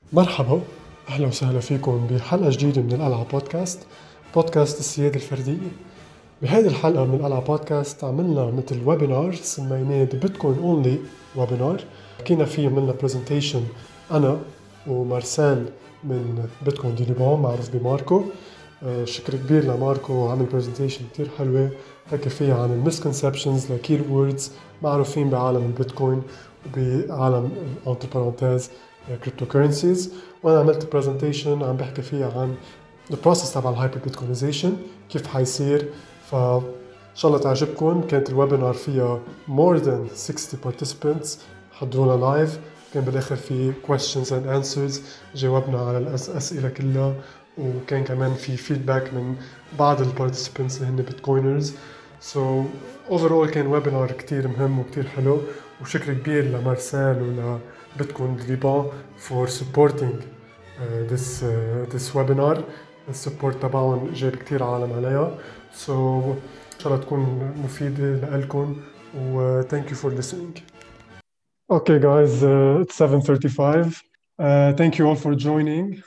مرحبا، أهلا وسهلا فيكم بحلقة جديدة من القلعة بودكاست، بودكاست السيادة الفردية. بهذه الحلقة من القلعة بودكاست عملنا مثل ويبينار سميناه The Bitcoin Only ويبينار. حكينا فيه عملنا برزنتيشن أنا ومارسيل من بيتكوين دي ليبان معروف بماركو. شكر كبير لماركو، عمل برزنتيشن كتير حلوة حكى فيها عن المسكونسبشنز لكي ووردز معروفين بعالم البيتكوين وبعالم entre parenthèses كريبتو كورنسيز. وانا عملت برزنتيشن عم بحكي فيها عن البروسيس تبع الهايبر بيتكوينيزيشن كيف حيصير. فان شاء الله تعجبكم. كانت الويبينار فيها more than 60 participants حضرونا لايف. كان بالاخر في questions and answers، جاوبنا على الاسئله كلها، وكان كمان في فيدباك من بعض البارتيسيبنتس اللي هن بيتكوينرز. سو اوفرول كان ويبينار كتير مهم وكتير حلو، وشكر كبير لمارسيل ولا بيتكوين ليبان for supporting this webinar. السبورت تبعهم جاب كتير عالم عليها. So إن شاء الله تكون مفيدة لكم و thank you for listening. Okay guys, it's 7:35. Thank you all for joining.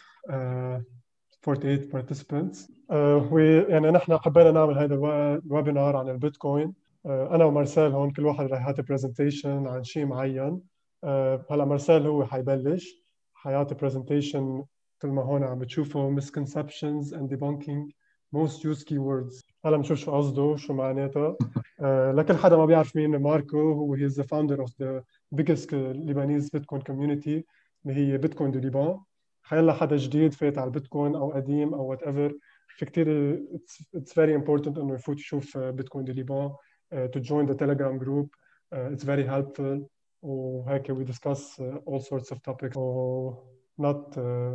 48 participants. يعني نحن حبينا نعمل هذا الويبينار عن البيتكوين. أنا ومارسيل هون كل واحد رح يعطي برزنتيشن عن شيء معين. هلا مارسيل هو حيبلش حيعطي برزنتيشن مثل ما هون عم بتشوفوا misconceptions and debunking most used keywords. هلا بنشوف شو قصده شو معناتها. لكل حدا ما بيعرف مين ماركو، هو he is the founder of the biggest Lebanese Bitcoin community اللي هي بيتكوين دو ليبان. حيلا حدا جديد فات على البيتكوين او قديم او وات ايفر، في كتير it's very important انه يفوت يشوف بيتكوين دو ليبان to join the telegram group. It's very helpful. وهيك we discuss all sorts of topics. So not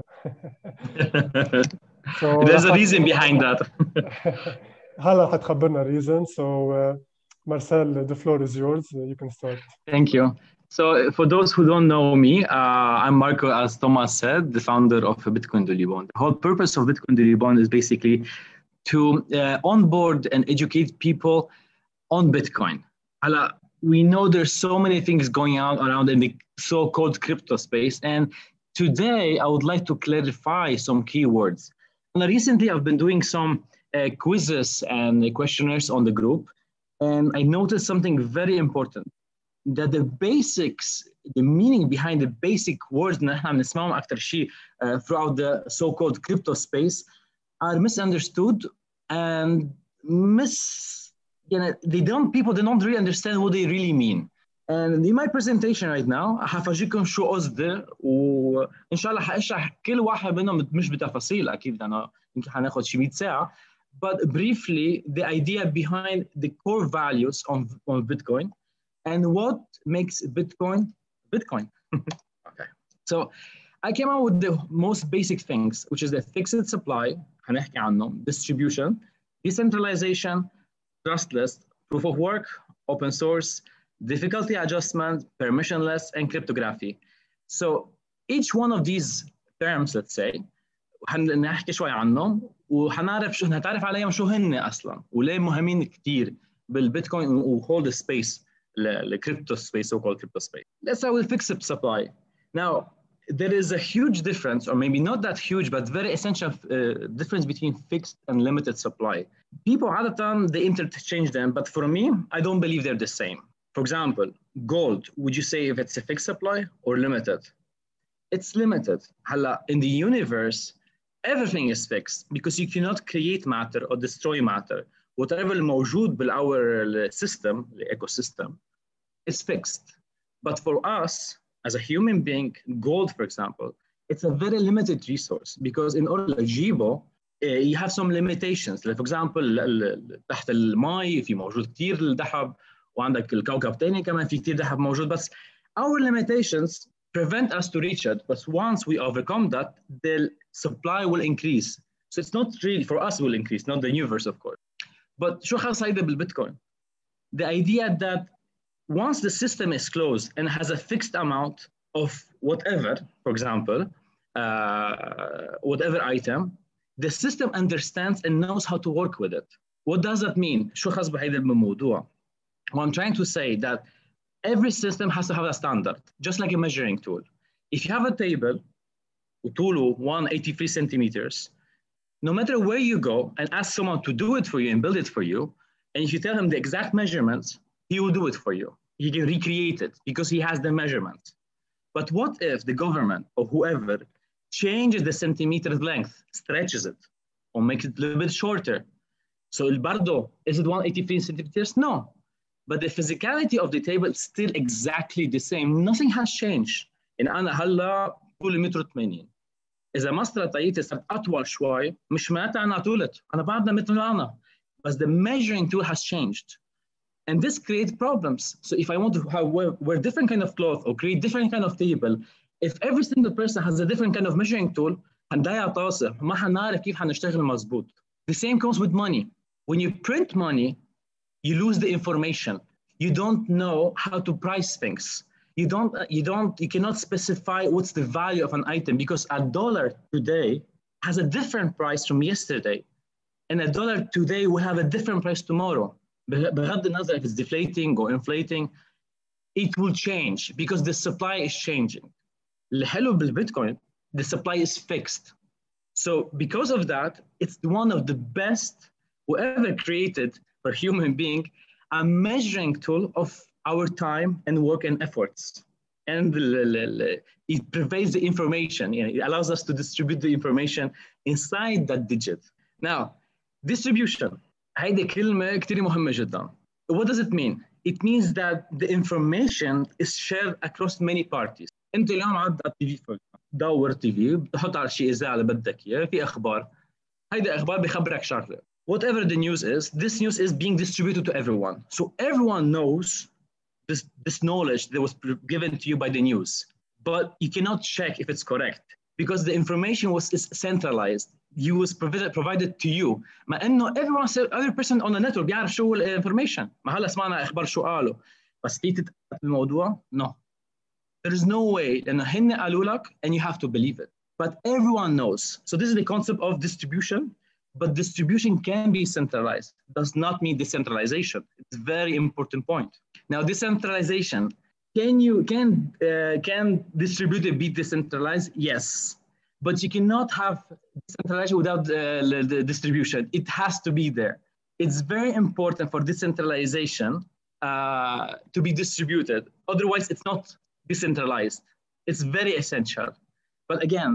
so There's a reason behind that. هلا حتخبرنا reason. So Marcel, the floor is yours. You can start. Thank you. So, for those who don't know me, I'm Marco, as Thomas said, the founder of Bitcoin de Liban. The whole purpose of Bitcoin de Liban is basically to onboard and educate people on Bitcoin. We know there's so many things going on around in the so-called crypto space, and today I would like to clarify some keywords. And recently, I've been doing some quizzes and questionnaires on the group, and I noticed something very important, that the basics, the meaning behind the basic words اللي احنا بنسمعهم أكتر شيء throughout the so-called crypto space are misunderstood and people don't really understand what they really mean. And in my presentation right now هفرجيكم شو قصدي، وإن شاء الله هشرح كل واحد منهم مش بتفاصيل أكيد لأنه يمكن هناخد شي 100 ساعة. But briefly, the idea behind the core values of Bitcoin and what makes Bitcoin Bitcoin. Okay. So I came out with the most basic things, which is the fixed supply, هنحكي عنهم, distribution, decentralization, trustless, proof of work, open source, difficulty adjustment, permissionless, and cryptography. So each one of these terms, let's say, هنحكي شوي عنهم هنتعرف عليهم شو هن اصلا وليه مهمين كتير بالبيتكوين وhold space, the crypto space, so-called crypto space. Let's start with fixed supply. Now, there is a huge difference, or maybe not that huge, but very essential difference between fixed and limited supply. People at the time, they interchange them, but for me, I don't believe they're the same. For example, gold, would you say if it's a fixed supply or limited? It's limited. In the universe, everything is fixed because you cannot create matter or destroy matter. Whatever موجود بالour system, the ecosystem, is fixed. But for us, as a human being, gold, for example, it's a very limited resource because in order to أجيبه, you have some limitations. Like for example, تحت الماء في موجود كتير الذهب، وعندك الكوكب تاني كمان في كتير ذهب موجود، بس our limitations prevent us to reach it. But once we overcome that, the supply will increase. So it's not really for us will increase, not the universe, of course. But شو خاص هيدا بالبيتكوين؟ The idea that once the system is closed and has a fixed amount of whatever, for example, whatever item, the system understands and knows how to work with it. What does that mean? شو خاص بهيدا الموضوع? What I'm trying to say that every system has to have a standard, just like a measuring tool. If you have a table وطوله 183 centimeters, no matter where you go and ask someone to do it for you and build it for you, and if you tell him the exact measurements, he will do it for you. He can recreate it because he has the measurements. But what if the government or whoever changes the centimeter length, stretches it, or makes it a little bit shorter? So el bardo, is it 183 centimeters? No. But the physicality of the table is still exactly the same. Nothing has changed. إن أنا هلا طولي متر 80. إذا مسطرة طريقتي صارت أطول شوي مش معناتها أنا طولت. أنا بعدنا مثل أنا. But the measuring tool has changed. And this creates problems. So if I want to wear different kind of cloth or create different kind of table, if every single person has a different kind of measuring tool, هنضيع طاسة. ما حنعرف كيف حنشتغل مظبوط. The same comes with money. When you print money, you lose the information. You don't know how to price things. You cannot specify what's the value of an item because a dollar today has a different price from yesterday. And a dollar today will have a different price tomorrow. بغض النظر if it's deflating or inflating, it will change because the supply is changing. الحلو بالبيتكوين, the supply is fixed. So because of that, it's one of the best whoever created for human being a measuring tool of our time and work and efforts. And it provides the information. It allows us to distribute the information inside that digit. Now, distribution. هيدي كلمة كتير مهمة جدا. What does it mean? It means that the information is shared across many parties. أنت اليوم عاد على التي في دور تي في بتحط على شيء إذاعة اللي بدك إياه في أخبار. هيدي أخبار بيخبرك شغلة. Whatever the news is, this news is being distributed to everyone. So everyone knows this knowledge that was given to you by the news. But you cannot check if it's correct because the information is centralized. You was provided to you. ما إنه every person on the network بيعرف شو information. ما هلا سمعنا أخبار شو قالوا. بس تيجي تتأكد من الموضوع? No. There is no way. لأنه هن قالوا لك and you have to believe it. But everyone knows. So this is the concept of distribution. But distribution can be centralized. Does not mean decentralization. It's a very important point. Now, decentralization, can distributed be decentralized? Yes. But you cannot have decentralization without the distribution. It has to be there. It's very important for decentralization to be distributed. Otherwise, it's not decentralized. It's very essential. But again,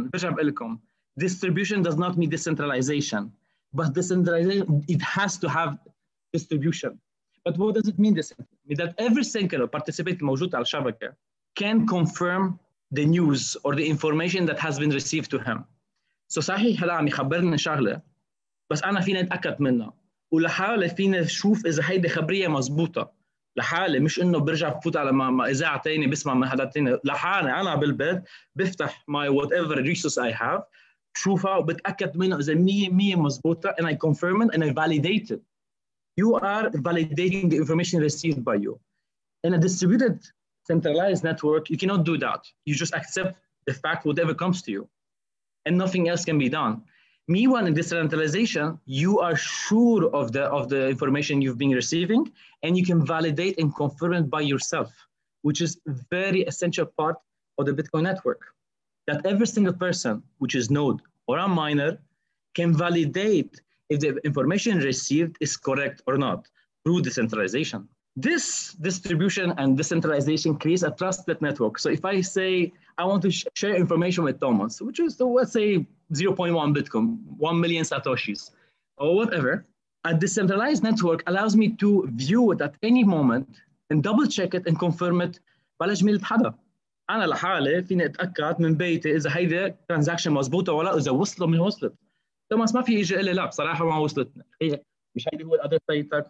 distribution does not mean decentralization. But decentralization, it has to have distribution. But what does it mean decentralization? That every single participant موجود على الشبكة can confirm the news or the information that has been received to him. So صحيح هلا عم يخبرنا شغلة بس أنا فيني أتأكد منها ولحالي فيني أشوف إذا هيدي خبرية مزبوطة لحالي مش إنه برجع بفوت على إذاعة تاني بسمع من حدا تاني لحالي أنا بالبيت بفتح my whatever resource I have بشوفها وبتأكد منها إذا 100% مزبوطة and I confirm it and I validate it. You are validating the information received by you. In a distributed, centralized network, you cannot do that. You just accept the fact, whatever comes to you, and nothing else can be done. Meanwhile, in decentralization, you are sure of the information you've been receiving, and you can validate and confirm it by yourself, which is a very essential part of the Bitcoin network. That every single person, which is node or a miner, can validate if the information received is correct or not through decentralization. This distribution and decentralization creates a trusted network. So if I say I want to share information with Thomas, which is, let's say, 0.1 Bitcoin, 1 million Satoshis, or whatever, a decentralized network allows me to view it at any moment and double check it and confirm it بلا جميلة حدا. أنا لحالي فيني أتأكد من بيتي إذا هيدا ترانزاكشن مزبوطة ولا إذا وصلوا من وصلت. توماس ما في يجي يقول لي لا بصراحة ما وصلتنا. هي مش هيدي هو الأدرس تاعتك.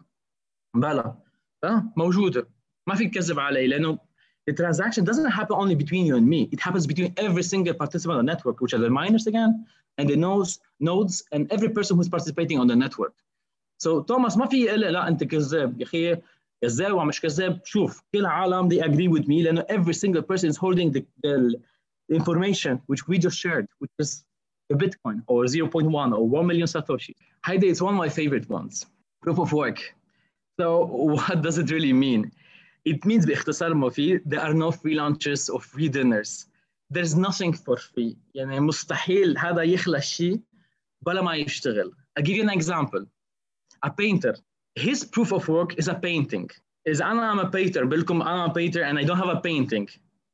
بلا. موجودة. ما في تكذب علي لأنه the transaction doesn't happen only between you and me. It happens between every single participant on the network, which are the miners again, and the nodes, and every person who's participating on the network. So Thomas ما في يقول لي لا أنت كذاب يا أخي كذاب ومش كذاب. شوف كل العالم they agree with me لأنه every single person is holding the information which we just shared, which is the Bitcoin or 0.1 or 1 million Satoshi. Heidi is one of my favorite ones. Proof of work. So what does it really mean? It means باختصار مفيد there are no free lunches or free dinners. there's nothing for free. يعني مستحيل هذا يخلق شيء بلا ما يشتغل. I'll give you an example. A painter, his proof of work is a painting. إذا I'm a painter, بقولكم I'm a painter and I don't have a painting.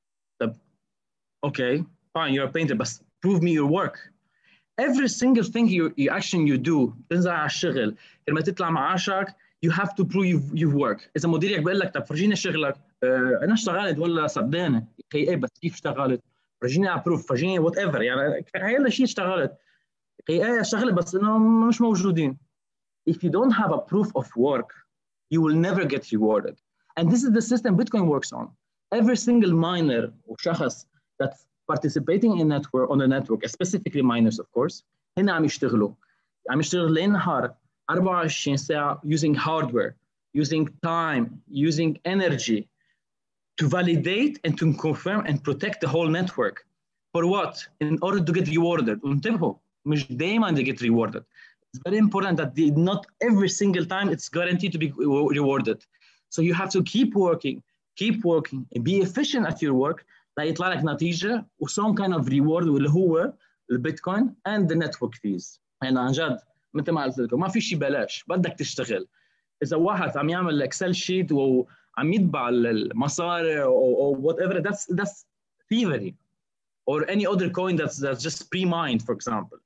Okay, fine, you're a painter, but prove me your work. Every single thing you action you do, تنزل على الشغل، لما تطلع معاشك, you have to prove your work. إذا مديرك بيقول لك طب فرجيني شغلك، أنا اشتغلت ولا صدقني؟ إيه بس كيف اشتغلت؟ فرجيني ابروف، فرجيني وات ايفر، يعني هي شيء اشتغلت. ايه اشتغلت بس انه مش موجودين. If you don't have a proof of work, you will never get rewarded. And this is the system Bitcoin works on. Every single miner وشخص that's participating in network on the network, specifically miners of course, هنا عم يشتغلوا ليل نهار 24 ساعة using hardware, using time, using energy to validate and to confirm and protect the whole network. For what? In order to get rewarded. وانتبهوا مش دايما they get rewarded. It's very important that not every single time it's guaranteed to be rewarded. So you have to keep working, and be efficient at your work ليطلع لك نتيجة و some kind of reward واللي هو البيتكوين and the network fees. يعني عن جد مثل ما قلت لكم ما في شيء بلاش، بدك تشتغل. إذا واحد عم يعمل اكسل شيت وعم يطبع المصاري or whatever, that's thievery. Or any other coin that's just pre-mined, for example.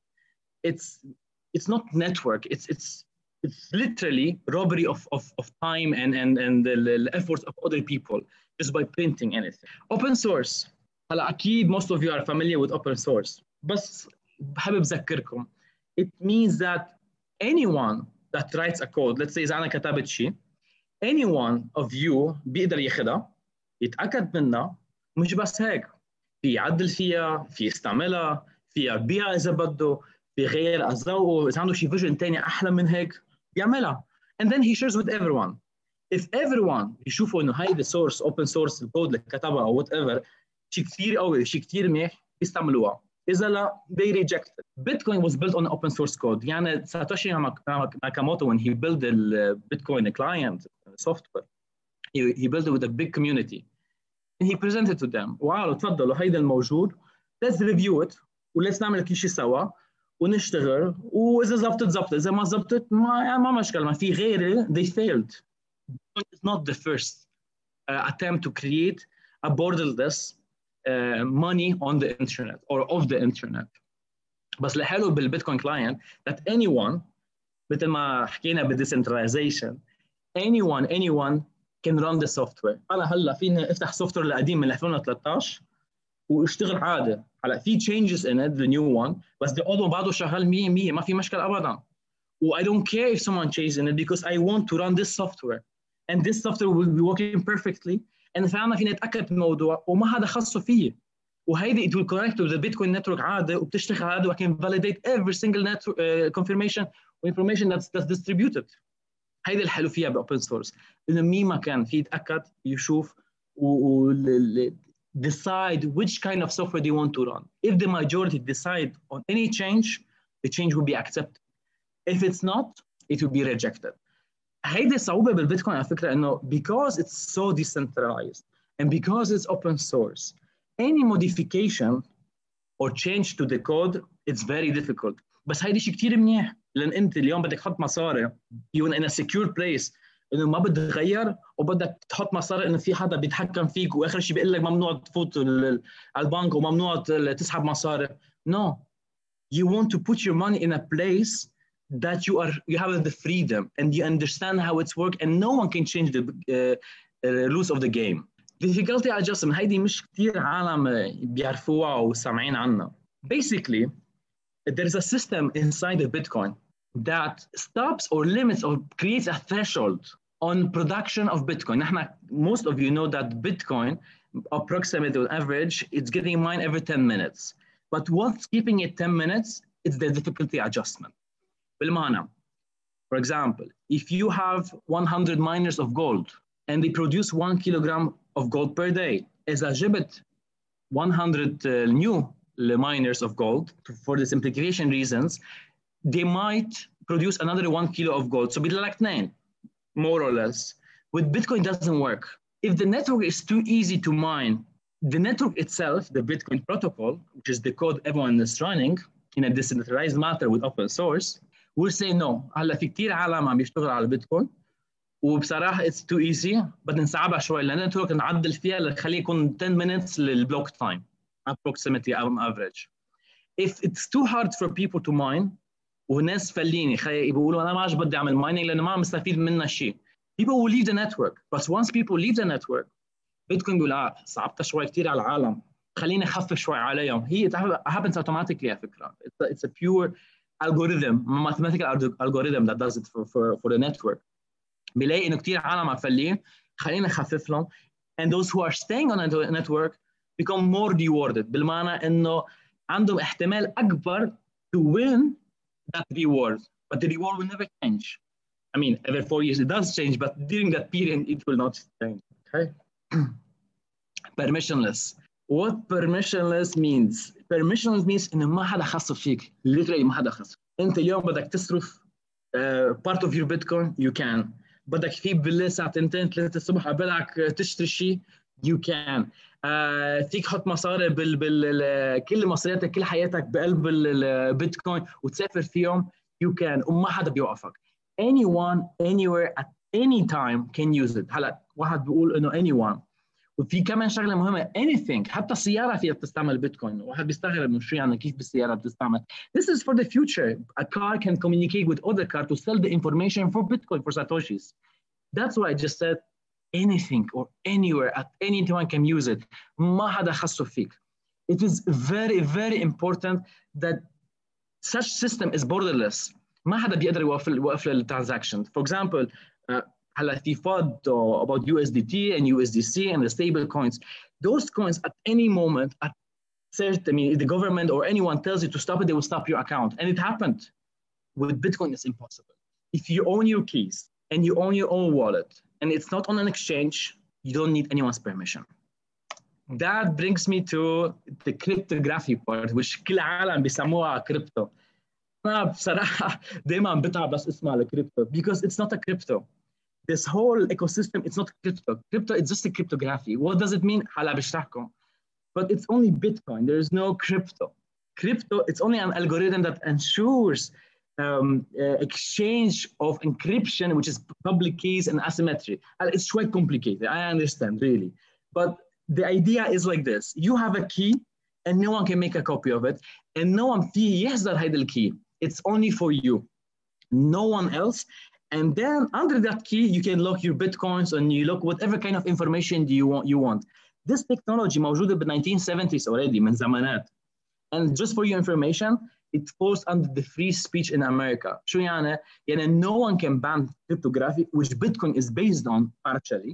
It's not network. It's literally robbery of time and the efforts of other people just by printing anything. Open source. هلا أكيد most of you are familiar with open source. بس بحب أذكركم. It means that anyone that writes a code, let's say إذا أنا كتبت شيء, any one of you بيقدر ياخدها، يتأكد منها، مش بس هيك، في يعدل فيها، في يستعملها، في يبيعها إذا بده، في غير أذوقه، إذا عنده شيء فيجن تاني أحلى من هيك بيعملها. And then he shares with everyone. If everyone يشوفوا إنه هاي the source open source الكود اللي كتبها أو whatever شيء كثير قوي، شيء كثير منيح، يستعملوها. إذا لا they reject it. Bitcoin was built on open source code. يعني ساتوشي ناكاموتو when he built the Bitcoin client software, he built it with a big community. And he presented to them. وقالوا تفضلوا هيدا الموجود. Let's review it. وليتس نعمل كل شيء سوا ونشتغل. وإذا زبطت إذا ما زبطت ما مشكلة، ما في غيره. They failed. It's not the first attempt to create a borderless money on the internet or of the internet. بس الحلو بالبيتكوين client that anyone مثل ما حكينا بالdecentralization anyone can run the software. أنا هلا فيني أفتح سوفتوير القديم من 2013 واشتغل عادي. هلا في changes in it the new one بس the old one بعده شغال 100% ما في مشكلة أبدا. و I don't care if someone changes in it because I want to run this software and this software will be working perfectly and فعلا فينا نتأكد من الموضوع وما حدا خصه فيه. وهيدي it will connect to the Bitcoin network عادي وبتشتغل عادي و I can validate every single network confirmation or information that's distributed. هيدي الحلو فيها باوبن سورس انه مين ما كان في يتاكد يشوف و decide which kind of software they want to run. If the majority decide on any change, the change will be accepted. If it's not, it will be rejected. هيدي الصعوبة بالبيتكوين على فكرة انه because it's so decentralized and because it's open source, any modification or change to the code, it's very difficult. بس هيدي شيء كتير منيح لان انت اليوم بدك تحط مصاري يكون in a secure place انه ما بدك تغير وبدك تحط مصاري انه في حدا بيتحكم فيك واخر شيء بيقول لك ممنوع تفوت على البنك وممنوع تسحب مصاري. No, you want to put your money in a place that you have the freedom and you understand how it's work and no one can change the rules of the game. Difficulty adjustment هيدي مش كتير عالم بيعرفوها وسامعين عنها. Basically there is a system inside of Bitcoin that stops or limits or creates a threshold on production of Bitcoin. Most of you know that Bitcoin, approximately on average, it's getting mined every 10 minutes. But what's keeping it 10 minutes? It's the difficulty adjustment. بالمعنى, for example, if you have 100 miners of gold and they produce 1 kilogram of gold per day, إذا جبت 100 new miners of gold for the simplification reasons, they might produce another 1 kilo of gold. So بدل لك 2, more or less. With Bitcoin, it doesn't work. If the network is too easy to mine the network itself, the Bitcoin protocol, which is the code everyone is running in a decentralized matter with open source, will say no. هلا في كثير عالم عم يشتغل على البيتكوين وبصراحه it's too easy بدنا نصعبها شوي لان النتورك نعدل فيها لنخليه يكون 10 minutes للبلوك تايم approximately on average. If it's too hard for people to mine وناس فليني بيقولوا انا ما عاد بدي اعمل mining لانه ما عم استفيد منها شيء. People will leave the network, but once people leave the network, بيتكوين بيقول صعبتها شوي كثير على العالم خليني اخفف شوي عليهم. هي happens automatically على فكره. It's a pure algorithm, mathematical algorithm that does it for the network. بيلاقي انه كثير عالم عفلين خلينا نخفف لهم and those who are staying on the network become more rewarded بالمعنى انه عندهم احتمال اكبر to win that reward, but the reward will never change. I mean, every 4 years it does change, but during that period it will not change. Okay. Permissionless. What permissionless means? Permissionless means انه ما حدا خص فيك. Literally ما حدا خص. انت اليوم بدك تصرف part of your Bitcoin, you can. بدك تجيب بالليل الساعه 2 3 الصبح قبلك تشتري شيء you can. فيك تحط مصاري كل مصارياتك كل حياتك بقلب البيتكوين وتسافر فيهم you can وما حدا بيوقفك. Anyone anywhere at any time can use it. هلا واحد بيقول انه anyone وفي كمان شغله مهمه anything حتى السياره فيها بتستعمل بيتكوين. واحد بيستغرب انه شو يعني كيف بالسياره بتستعمل. This is for the future. A car can communicate with other car to sell the information for Bitcoin for satoshis. That's why I just said anything or anywhere at any time can use it. ما حدا خصه فيك. It is very very important that such system is borderless. ما حدا بيقدر يوقف الترانزاكشن. For example, هلا في FUD about USDT and USDC and the stable coins. Those coins at any moment, at certain, I mean, if the government or anyone tells you to stop it, they will stop your account. And it happened. With Bitcoin, it's impossible. If you own your keys and you own your own wallet and it's not on an exchange, you don't need anyone's permission. That brings me to the cryptography part, which كل العالم بيسموها crypto. أنا بصراحة دايما بتعب بس اسمع الكريبتو because it's not a crypto. This whole ecosystem, it's not crypto. Crypto, it's just a cryptography. What does it mean? هلا بشرحكم. But it's only Bitcoin. There is no crypto. Crypto, it's only an algorithm that ensures exchange of encryption, which is public keys and asymmetry. It's quite complicated. I understand, really. But the idea is like this. You have a key and no one can make a copy of it. And no one فيه يحضر هيدا الكي. It's only for you. No one else. And then under that key, you can lock your Bitcoins and you lock whatever kind of information you want. This technology موجودة ب 1970s already من زمانات. And just for your information, it falls under the free speech in America. شو يعني؟ يعني no one can ban cryptography, which Bitcoin is based on partially,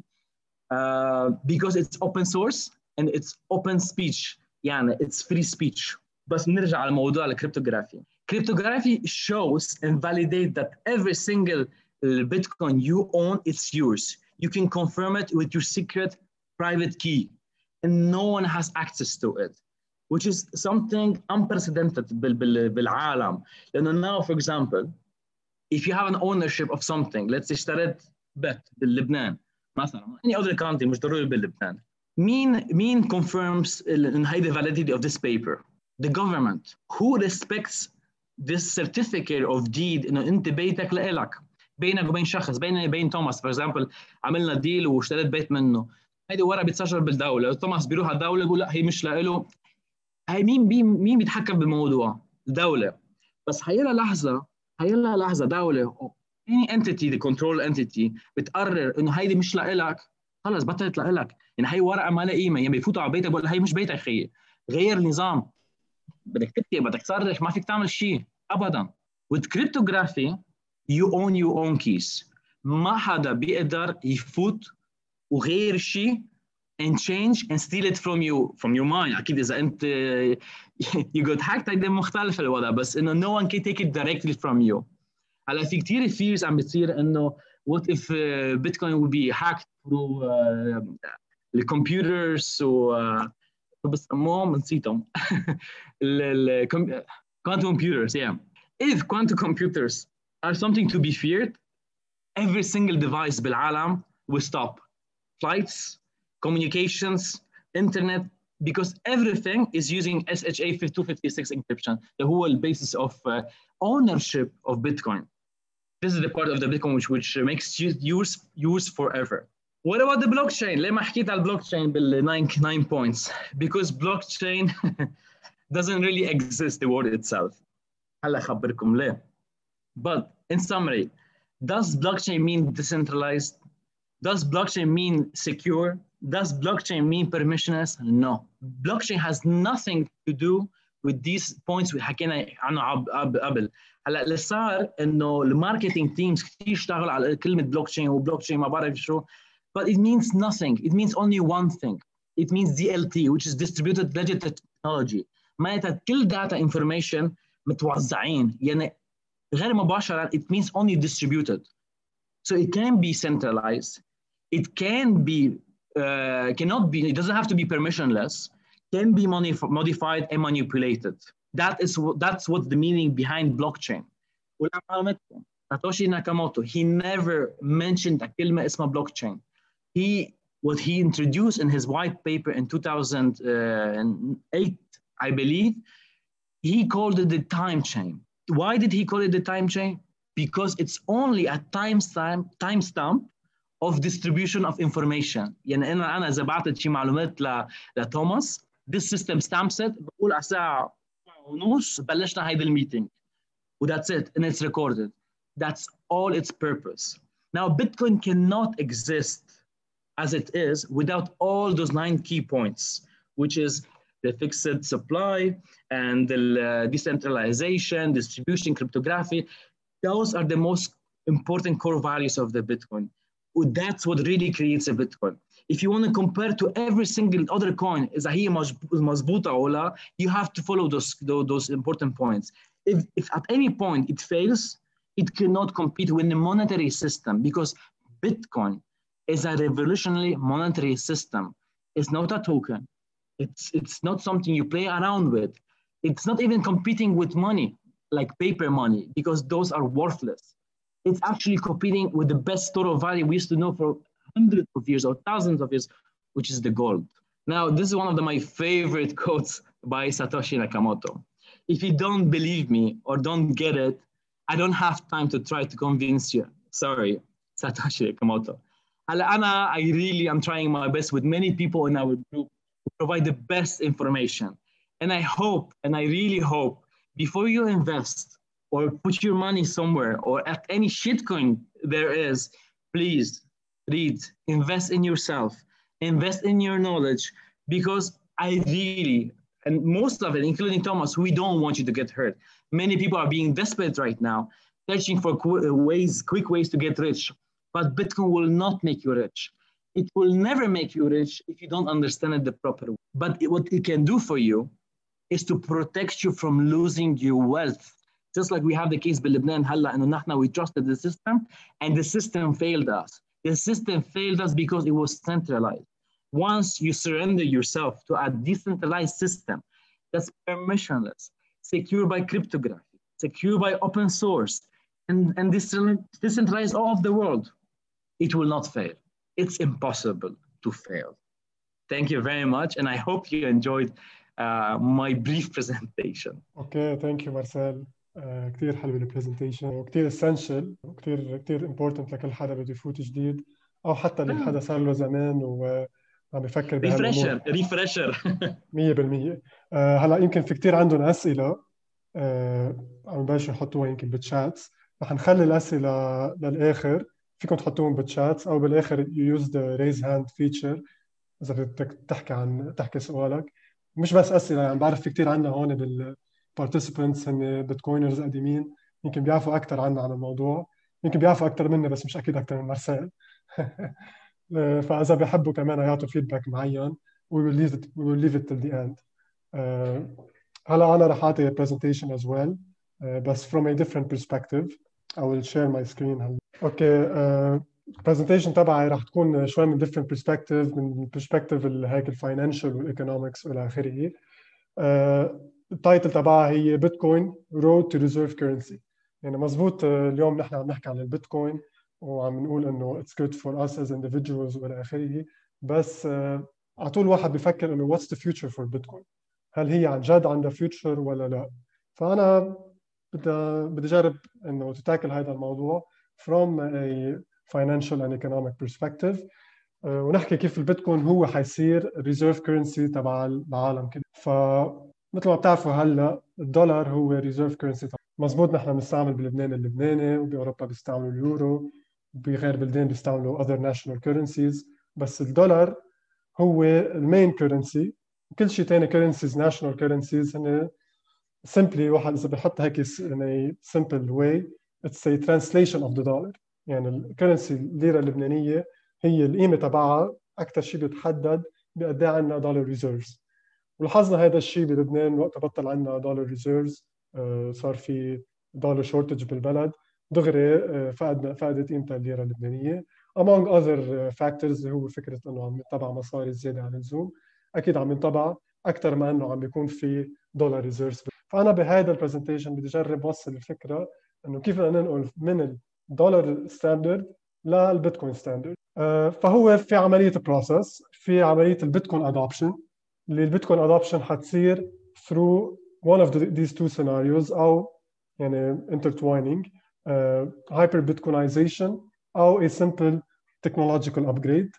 because it's open source and it's open speech. يعني it's free speech. بس نرجع على موضوع الكريبتوغرافي. Cryptography shows and validates that every single Bitcoin you own, it's yours. You can confirm it with your secret private key, and no one has access to it, which is something unprecedented بالعالم. لأنه now, for example, if you have an ownership of something, let's say اشتريت بيت بلبنان مثلا, any other country مش ضروري بلبنان. مين confirms the validity of this paper? The government. Who respects this certificate of deed انه انت بيتك لإلك بينك وبين شخص, بيني وبين توماس for example, عملنا ديل واشتريت بيت منه, هيدي ورقه بيتسجل بالدوله, توماس بيروح على الدوله بيقول لا هي مش لإله. هي مين بيتحكم بالموضوع؟ الدوله. بس هيلا لحظه دوله any entity, the control entity بتقرر انه هيدي مش لإلك, خلص بطلت لإلك. يعني هي ورقه ما لها قيمه, يعني بيفوتوا على بيتك بيقول هي مش بيتك خيي, غير النظام, بدك تكتب بدك تصرخ ما فيك تعمل شيء ابدا. With cryptography you own your own keys. ما حدا بيقدر يفوت وغير شيء and change and steal it from your mind. أكيد إذا أنت you got hacked هيدا مختلف الوضع, بس إنه no one can take it directly from you. هلا في كتير fears عم بتصير إنه what if Bitcoin will be hacked through the computers بسموهم نسيتهم quantum computers. Yeah. If quantum computers are something to be feared, every single device بالعالم will stop. Flights, communications, internet, because everything is using SHA-256 encryption اللي هو the basis of ownership of Bitcoin. This is the part of the Bitcoin which makes use forever. What about the blockchain? ليه ما حكيت على البلوكتشين بال 9 points? Because blockchain doesn't really exist, the word itself. هلا أخبركم ليه. But in summary, does blockchain mean decentralized? Does blockchain mean secure? Does blockchain mean permissionless? No. Blockchain has nothing to do with these points we حكينا عنه قبل. هلا اللي صار انه الماركتينج تيمز كثير اشتغلوا على كلمه بلوكتشين وبلوكتشين ما بعرف شو. But it means nothing. It means only one thing. It means DLT, which is distributed ledger technology. معناتها كل data information متوزعين يعني غير مباشرة. It means only distributed. So it can be centralized. It can be, cannot be, it doesn't have to be permissionless, can be modified and manipulated. That's what the meaning behind blockchain. Satoshi Nakamoto, he never mentioned a كلمة اسمها blockchain. What he introduced in his white paper in 2008, I believe, he called it the time chain. Why did he call it the time chain? Because it's only a timestamp of distribution of information. يعني أنا إذا بعثت شيء معلومات لتوماس, this system stamps it, بقول على الساعة ونص بلشنا هيدا الميتينج. That's it, and it's recorded. That's all its purpose. Now, Bitcoin cannot exist as it is without all those 9 key points, which is the fixed supply and the decentralization, distribution, cryptography. Those are the most important core values of the Bitcoin. That's what really creates a Bitcoin. If you want to compare to every single other coin, إذا هي مظبوطة أو لا, you have to follow those important points. If at any point it fails, it cannot compete with the monetary system, because Bitcoin is a revolutionary monetary system. It's not a token. It's not something you play around with. It's not even competing with money, like paper money, because those are worthless. It's actually competing with the best store of value we used to know for hundreds of years or thousands of years, which is the gold. Now, this is one of my favorite quotes by Satoshi Nakamoto. If you don't believe me or don't get it, I don't have time to try to convince you. Sorry, Satoshi Nakamoto. I really am trying my best with many people in our group to provide the best information. And I hope, and I really hope, before you invest or put your money somewhere or at any shitcoin there is, please read, invest in yourself, invest in your knowledge, because I really, and most of it, including Thomas, we don't want you to get hurt. Many people are being desperate right now, searching for quick ways to get rich. But Bitcoin will not make you rich. It will never make you rich if you don't understand it the proper way. But what it can do for you is to protect you from losing your wealth. Just like we have the case بلبنان هلا إنه نحن we trusted the system and the system failed us. The system failed us because it was centralized. Once you surrender yourself to a decentralized system that's permissionless, secure by cryptography, secure by open source, and decentralized all of the world, it will not fail. It's impossible to fail. Thank you very much, and I hope you enjoyed my brief presentation. Okay, thank you, Marcel. كتير حلو البرزنتيشن وكتير essential وكتير important لكل حدا بده يفوت جديد أو حتى اللي حدا صار له زمان وعم بفكر بهالأمور. ريفرشر 100%. هلا يمكن في كتير عندهم أسئلة عم بلشوا يحطوها يمكن بالشاتس. رح نخلي الأسئلة للآخر، فيكم تحطوهم بالشاتس أو بالآخر you use the raise hand feature إذا بدك تحكي سؤالك. مش بس أسئلة، يعني بعرف في كتير عنا هون بالparticipants هن بيتكوينرز قديمين، يمكن بيعرفوا أكتر عنا عن الموضوع، يمكن بيعرفوا أكتر مني بس مش أكيد أكتر من مارسيل. فإذا بيحبوا كمان يعطوا فيدباك معين we will leave it till the end. هلا أنا رح أعطي presentation as well بس from a different perspective. I will share my screen هلا. أوكي. presentation تبعي رح تكون شوي من different perspective، من perspective هيك الفاينانشال والايكونومكس والى اخره. التايتل تبعها هي بيتكوين road to reserve currency. يعني مزبوط اليوم نحن عم نحكي عن البيتكوين وعم نقول انه it's good for us as individuals والى اخره، بس على طول واحد بيفكر انه what's the future for Bitcoin، هل هي عن جد عندها future ولا لا. فانا بدي اجرب انه تتاكل هذا الموضوع from a financial and economic perspective، ونحكي كيف البيتكوين هو حيصير ريزيرف كرنسي تبع العالم كله. فمثل ما بتعرفوا هلا الدولار هو ريزيرف كرنسي. مزبوط، نحن بنستعمل بلبنان اللبناني، وباوروبا بيستعملوا اليورو، بغير بلدان بيستعملوا other national currencies، بس الدولار هو المين كرنسي. كل شيء ثاني كرنسيز ناشونال كرنسيز هن simply، واحد اذا بحط هيك in a simple way it's a translation of the dollar. يعني الكرنسي الليره اللبنانيه هي القيمه تبعها اكثر شيء بيتحدد بقد ايه عندنا دولار ريزيرفز. ولاحظنا هذا الشيء بلبنان وقت بطل عندنا دولار ريزيرفز، صار في دولار شورتج بالبلد، دغري فقدت قيمتها الليره اللبنانيه among other factors، اللي هو فكره انه عم ينطبع مصاري زياده عن اللزوم. اكيد عم ينطبع اكثر ما انه عم بيكون في دولار ريزيرفز. فانا بهذا البرزنتيشن بدي اجرب اوصل الفكره انه كيف بدنا ننقل من الدولار ستاندرد للبيتكوين ستاندرد. فهو في عمليه بروسس، في عمليه البيتكوين ادوبشن، اللي البيتكوين ادوبشن حتصير through one of these two scenarios، او يعني intertwining hyper bitcoinization او a simple technological upgrade.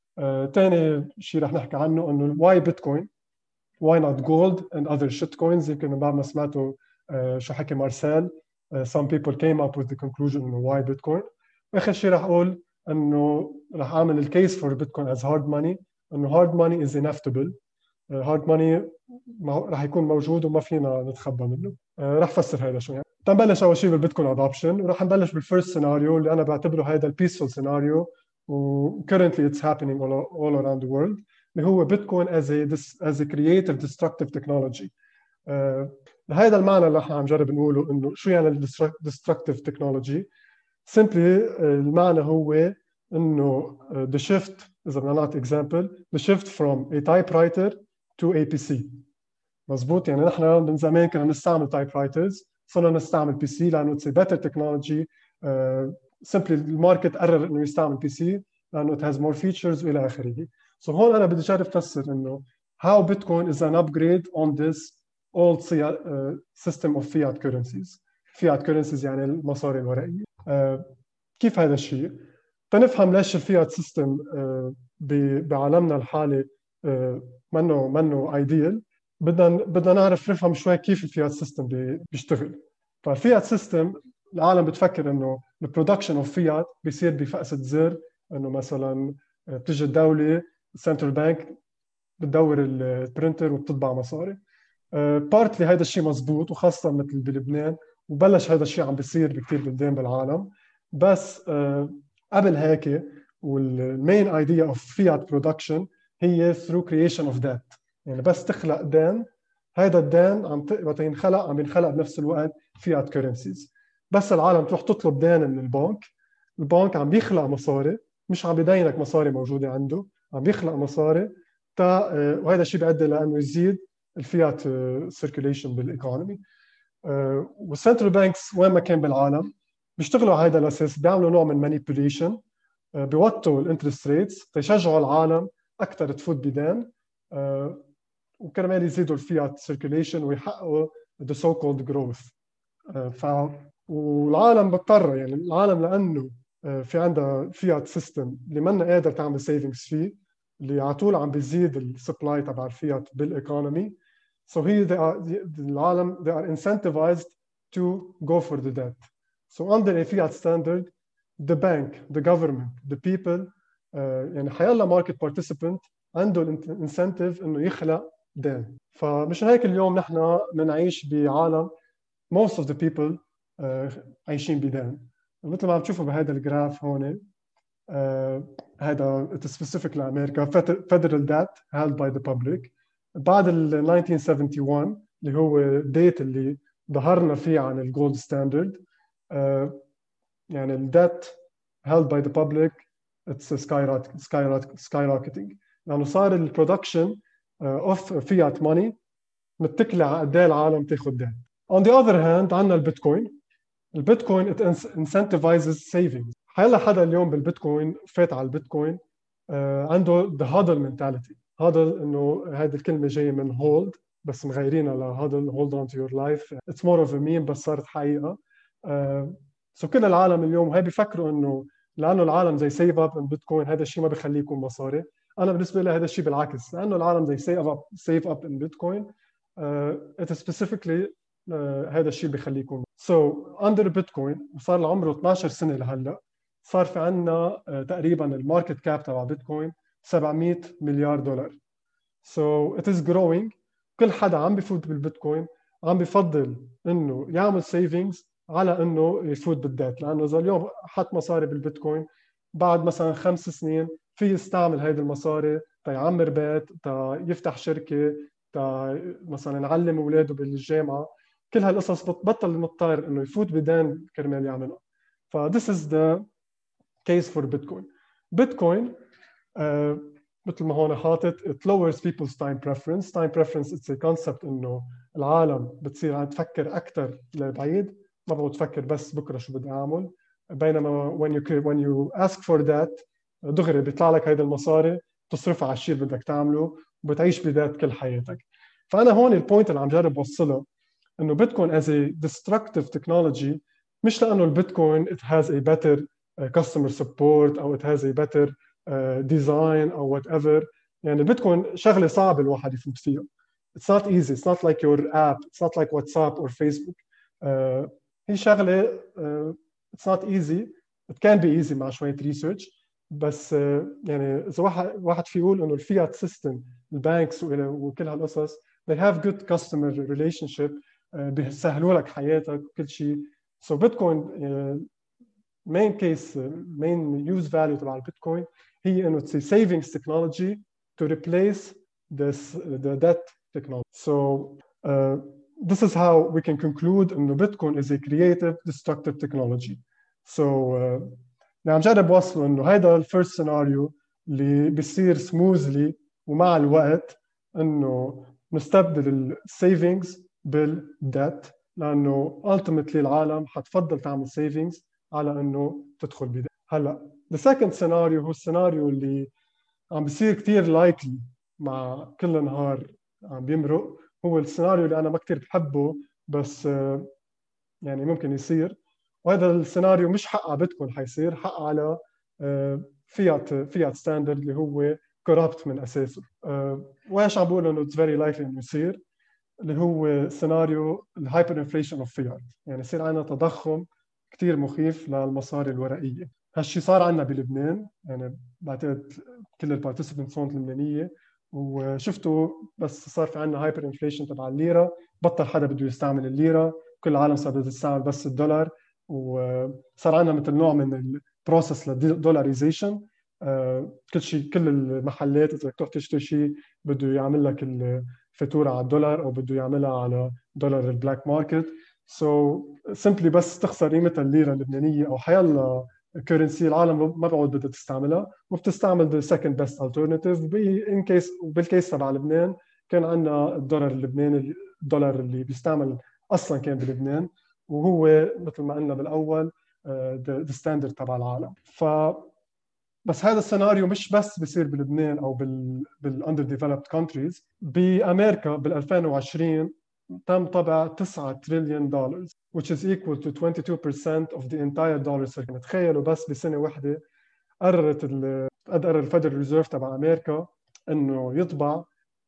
ثاني شيء رح نحكي عنه انه why bitcoin، why not gold and other shit coins. يمكن من بعد ما سمعتوا شو حكي مارسيل، some people came up with the conclusion انه why bitcoin. واخر شيء رح اقول انه رح اعمل الكيس for bitcoin as hard money، انه hard money is inevitable. hard money رح يكون موجود وما فينا نتخبى منه. رح فسر هذا شو يعني. تنبلش اول شيء بالبيتكوين ادوبشن، ورح نبلش بالفيرست سيناريو اللي انا بعتبره هذا البيسفول سيناريو، و currently it's happening all around the world، اللي هو بيتكوين as a creative destructive technology. هذا المعنى اللي احنا عم نجرب نقوله، انه شو يعني destructive technology. simply المعنى هو انه the shift، اذا بدنا نعطي example، the shift from a typewriter to a PC. مزبوط، يعني نحن من زمان كنا نستعمل typewriters، صرنا نستعمل PC لانه it's a better technology. simply الماركت قرر انه يستعمل PC لانه it has more features والى اخره. so هون انا بدي اجرب افسر انه how Bitcoin is an upgrade on this old system of fiat currencies. fiat currencies يعني المصاري الورقيه. كيف هذا الشيء؟ تنفهم ليش الفيات سيستم بعالمنا الحالي منه ايديال، بدنا نعرف نفهم شوي كيف الفيات سيستم بيشتغل. فالفيات سيستم العالم بتفكر انه البرودكشن اوف فيات بيصير بفقسة زر، انه مثلا بتجي الدوله السنترال بانك بتدور البرنتر وبتطبع مصاري. بارتلي هذا الشيء مزبوط، وخاصه مثل بلبنان، وبلش هذا الشيء عم بيصير بكثير بلدان بالعالم. بس قبل هيك، والمين ايديا اوف فيات برودكشن هي through creation of debt. يعني بس تخلق دين، هذا الدين وقت ينخلق عم ينخلق بنفس الوقت فيات كرنسيز. بس العالم تروح تطلب دين من البنك، البنك عم بيخلق مصاري، مش عم بيدينك مصاري موجوده عنده، عم بيخلق مصاري وهذا الشيء بيؤدي لانه يزيد الفيات سيركيوليشن بالايكونومي. والسنترال بانكس وين ما كان بالعالم بيشتغلوا على هذا الاساس، بيعملوا نوع من مانيبيوليشن، بيوطوا الانترست ريتس تيشجعوا العالم اكثر تفوت بدين، وكرمال يزيدوا الفيات سيركيوليشن ويحققوا the so called growth. والعالم بتضطر، يعني العالم لانه في عندها فيات سيستم اللي منا قادر تعمل سيفنجز فيه، اللي على طول عم بيزيد السبلاي تبع الفيات بالايكونومي. so العالم they are incentivized to go for the debt. so under a fiat standard the bank, the government, the people، يعني حيلا ماركت بارتيسيبنت عنده الانسنتيف انه يخلق دين. فمش هيك اليوم نحن بنعيش بعالم most of the people عايشين بدين. مثل ما عم تشوفوا بهذا الجراف هون، هذا specific لامريكا federal debt held by the public بعد 1971 اللي هو الديت اللي ظهرنا فيه عن الجولد ستاندرد. يعني الديت held by the public it's skyrocketing لانه صار البرودكشن اوف فيات ماني متكله على قد ايه العالم تاخذ دين. on the other hand عندنا البيتكوين it incentivizes savings. هلا حدا اليوم بالبيتكوين فات على البيتكوين عنده the hodl mentality، هادل انه هذه الكلمه جايه من هولد بس مغيرينها لهادل هولد اون تو يور لايف. اتس مور اوف ا ميم بس صارت حقيقه. سو كل العالم اليوم هي بيفكروا انه لانه العالم زي سيف اب ان بيتكوين هذا الشيء ما بخليه يكون مصاري. انا بالنسبه لي هذا الشيء بالعكس، لانه العالم زي سيف اب ان بيتكوين ات سبيسيفيكلي هذا الشيء بخليه يكون. سو اندر بيتكوين وصار له عمره 12 سنه لهلا، صار في عندنا تقريبا الماركت كاب تبع بيتكوين 700 مليار دولار. So it is growing. كل حدا عم بفوت بالبيتكوين عم بفضل انه يعمل سيفينجز على انه يفوت بالديت، لانه اذا اليوم حط مصاري بالبيتكوين بعد مثلا 5 سنين في يستعمل هيدي المصاري تيعمر بيت، يفتح شركه، مثلا يعلم اولاده بالجامعه. كل هالقصص بتبطل مضطر انه يفوت بدين كرمال يعملها. ف this is the case for Bitcoin. Bitcoin مثل ما هون حاطط it lowers people's time preference. Time preference it's a concept انه العالم بتصير عم تفكر اكثر لبعيد، ما بقعد تفكر بس بكره شو بدي اعمل. بينما when you ask for that دغري بيطلع لك هيدا المصاري تصرفها على الشيء اللي بدك تعمله وبتعيش بذات كل حياتك. فانا هون البوينت اللي عم جرب اوصلها انه بيتكوين as a destructive technology، مش لانه البيتكوين it has a better customer support او it has a better design او whatever. يعني البيتكوين شغله صعبه الواحد يفوت فيها. It's not easy. It's not like your app. It's not like WhatsApp or Facebook. هي شغله it's not easy. It can be easy مع شويه ريسيرش. بس يعني اذا واحد في يقول انه الفيات سيستم البانكس وكل هالقصص they have good customer relationship، بيسهلوا لك حياتك وكل شيء. So Bitcoin main case main use value تبع البيتكوين هي انه it's a savings technology to replace the debt technology. So this is how we can conclude انه Bitcoin is a creative destructive technology. So عم جرب وصله انه هيدا الفيرست سيناريو اللي بيصير سموزلي ومع الوقت انه نستبدل السيفنجز بالديت، لانه ultimately العالم حتفضل تعمل سيفنجز على انه تدخل بديت. هلا the second scenario هو السيناريو اللي عم بيصير كثير لايكلي مع كل نهار عم بيمرق، هو السيناريو اللي انا ما كثير بحبه بس يعني ممكن يصير. وهذا السيناريو مش حق على بيتكوين حيصير، حق على فيات ستاندرد اللي هو كورابت من اساسه. وايش عم بقول انه اتس فيري لايكلي انه يصير، اللي هو سيناريو الهايبر انفليشن اوف فيات، يعني يصير عندنا تضخم كثير مخيف للمصاري الورقيه. هالشيء صار عندنا بلبنان، يعني بعتقد كل البارتيسيبنتس هون اللبنانيه وشفتوا، بس صار في عندنا هايبر انفليشن تبع الليره، بطل حدا بده يستعمل الليره، كل العالم صار بدها تستعمل بس الدولار، وصار عندنا مثل نوع من البروسس للدولاريزيشن. كل شيء كل المحلات اذا بدك تروح تشتري شيء بده يعمل لك الفاتوره على الدولار او بده يعملها على دولار البلاك ماركت. سو سمبلي بس تخسر قيمتها الليره اللبنانيه او حيلا كرنسي العالم ما بعود بدها تستعملها، وبتستعمل ذا سكند بيست الترناتيف. ان كيس بالكيس تبع لبنان كان عندنا الدولار اللبناني، الدولار اللي بيستعمل اصلا كان بلبنان، وهو مثل ما قلنا بالاول ذا ستاندرد تبع العالم. بس هذا السيناريو مش بس بيصير بلبنان او بالاندر ديفلوبد كونتريز. بامريكا بال 2020 تم طبع 9 تريليون دولار which is equal to 22% of the entire dollar circle. تخيلوا بس بسنه واحده قرر الفيدرال ريزيرف تبع امريكا انه يطبع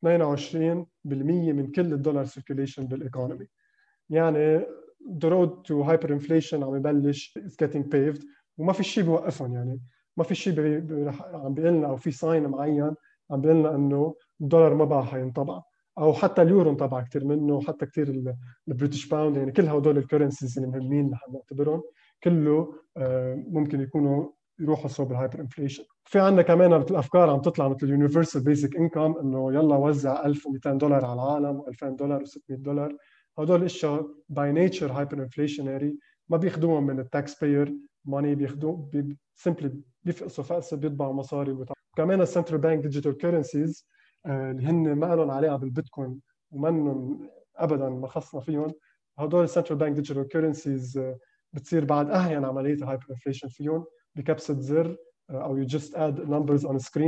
22% من كل الدولار سيركيليشن بالايكونومي. يعني the road to hyperinflation عم يبلش is getting paved، وما في شيء بيوقفهم. يعني ما في شيء عم بيقول لنا او في ساين معين عم بيقول لنا انه الدولار ما بقى حينطبع، او حتى اليورو انطبع كثير منه، وحتى كثير البريتش باوند. يعني كل هدول الكرنسيز اللي مهمين نحن نعتبرهم كله ممكن يكونوا يروحوا صوب الهايبر انفليشن. في عندنا كمان مثل افكار عم تطلع مثل اليونيفرسال بيزك انكم، انه يلا وزع 1200 دولار على العالم و2000 دولار و600 دولار. هدول الاشياء باي نيتشر هايبر انفليشنري، ما بياخذوهم من التاكس باير ماني، بياخذوه سمبلي بيفقسوا فقسه بيطبعوا مصاري. كمان السنترال بانك ديجيتال كرنسيز اللي هن ما لهم علاقه بالبيتكوين ومنهم ابدا ما خصنا فيهم، هدول السنترال بانك ديجيتال كرنسيز بتصير بعد اهين عمليه الهايبر انفليشن فيهم بكبسه زر او you just add numbers on a screen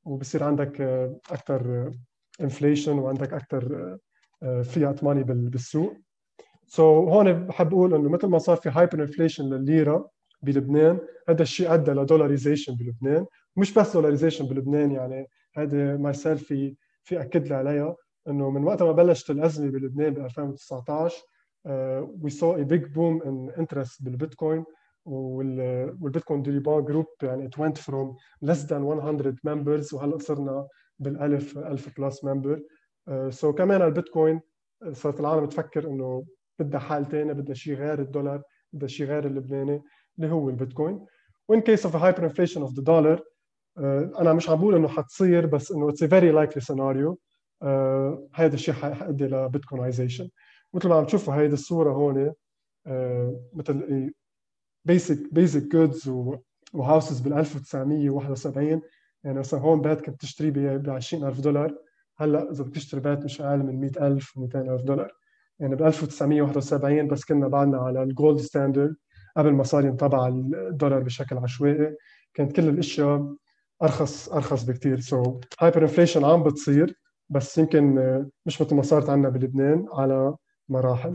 وبصير عندك اكثر انفليشن وعندك اكثر فيات ماني بالسوق. هون بحب اقول انه مثل ما صار في هايبر انفليشن للليره بلبنان، هذا الشيء ادى لدولاريزيشن بلبنان. مش بس دولاريزيشن بلبنان، يعني هذا مارسيل في اكد لي عليها انه من وقت ما بلشت الازمه بلبنان ب 2019 we saw a big boom in interest بالبيتكوين. والبيتكوين ديليبان جروب يعني it went from less than 100 members وهلا صرنا بالالف 1000 بلس ممبر. كمان البيتكوين صارت العالم تفكر انه بدها حال ثاني، بدها شيء غير الدولار، بدها شيء غير اللبناني اللي هو البيتكوين. وإن كيس اوف hyperinflation of the dollar انا مش عم بقول انه حتصير، بس انه it's a very likely scenario. هذا الشيء حيؤدي لبيتكوينايزيشن. مثل ما عم تشوفوا هيدي الصوره هون مثل basic goods وهاوسز بال 1971. يعني مثلا هون بيت كنت تشتري ب $20,000، هلا اذا بدك تشتري بيت مش اقل من 100,000 و200,000 يعني ب 1971 بس كنا بعدنا على الجولد ستاندرد قبل ما صار ينطبع الدولار بشكل عشوائي، كانت كل الاشياء ارخص بكثير. هايبر انفليشن عم بتصير، بس يمكن مش مثل ما صارت عندنا بلبنان على مراحل.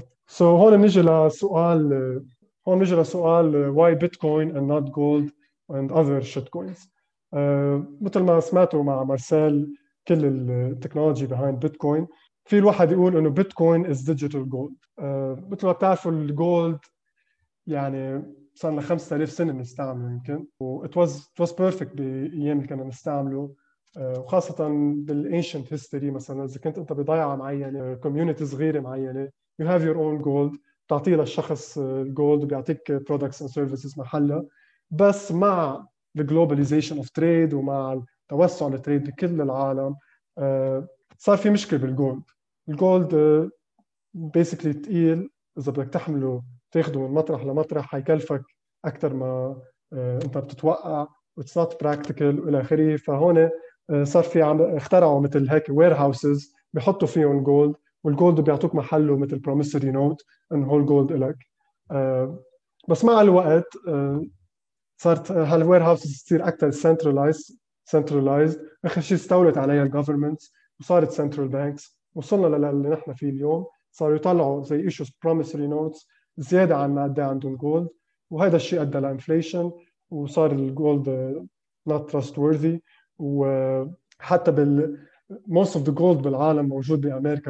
هون نجي لسؤال why Bitcoin and not gold and other shitcoins. مثل ما سمعتوا مع مارسيل كل التكنولوجي behind Bitcoin، في الواحد يقول انه Bitcoin is digital gold. مثل ما بتعرفوا الجولد يعني صار لنا 5000 سنه بنستعمله يمكن، و it was perfect بايام اللي كنا نستعمله. وخاصه بالانشنت هيستوري، مثلا اذا كنت انت بضيعه معينه كوميونتي صغيره معينه you have your own gold، بتعطيه للشخص الجولد وبيعطيك products and services محلها. بس مع الجلوباليزيشن اوف تريد ومع توسع التريد بكل العالم صار في مشكله بالجولد. الجولد بيسكلي ثقيل، اذا بدك تحمله تاخده من مطرح لمطرح حيكلفك اكثر ما انت بتتوقع، واتس نوت براكتيكال والى اخره. فهون صار في اخترعوا مثل هيك وير هاوسز بيحطوا فيهم جولد، والجولد بيعطوك محله مثل بروميسوري نوت انه هول جولد لك. بس مع الوقت صارت هالوير هاوسز تصير اكثر سنترلايزد. اخر شيء استولت عليها الجفرمنت وصارت سنترال بانكس. وصلنا للي نحن فيه اليوم، صاروا يطلعوا زي ايشوز بروميسوري نوتس زياده عن ما قد عندهم جولد، وهذا الشيء ادى لانفليشن وصار الجولد not trustworthy. وحتى most of the gold بالعالم موجود بامريكا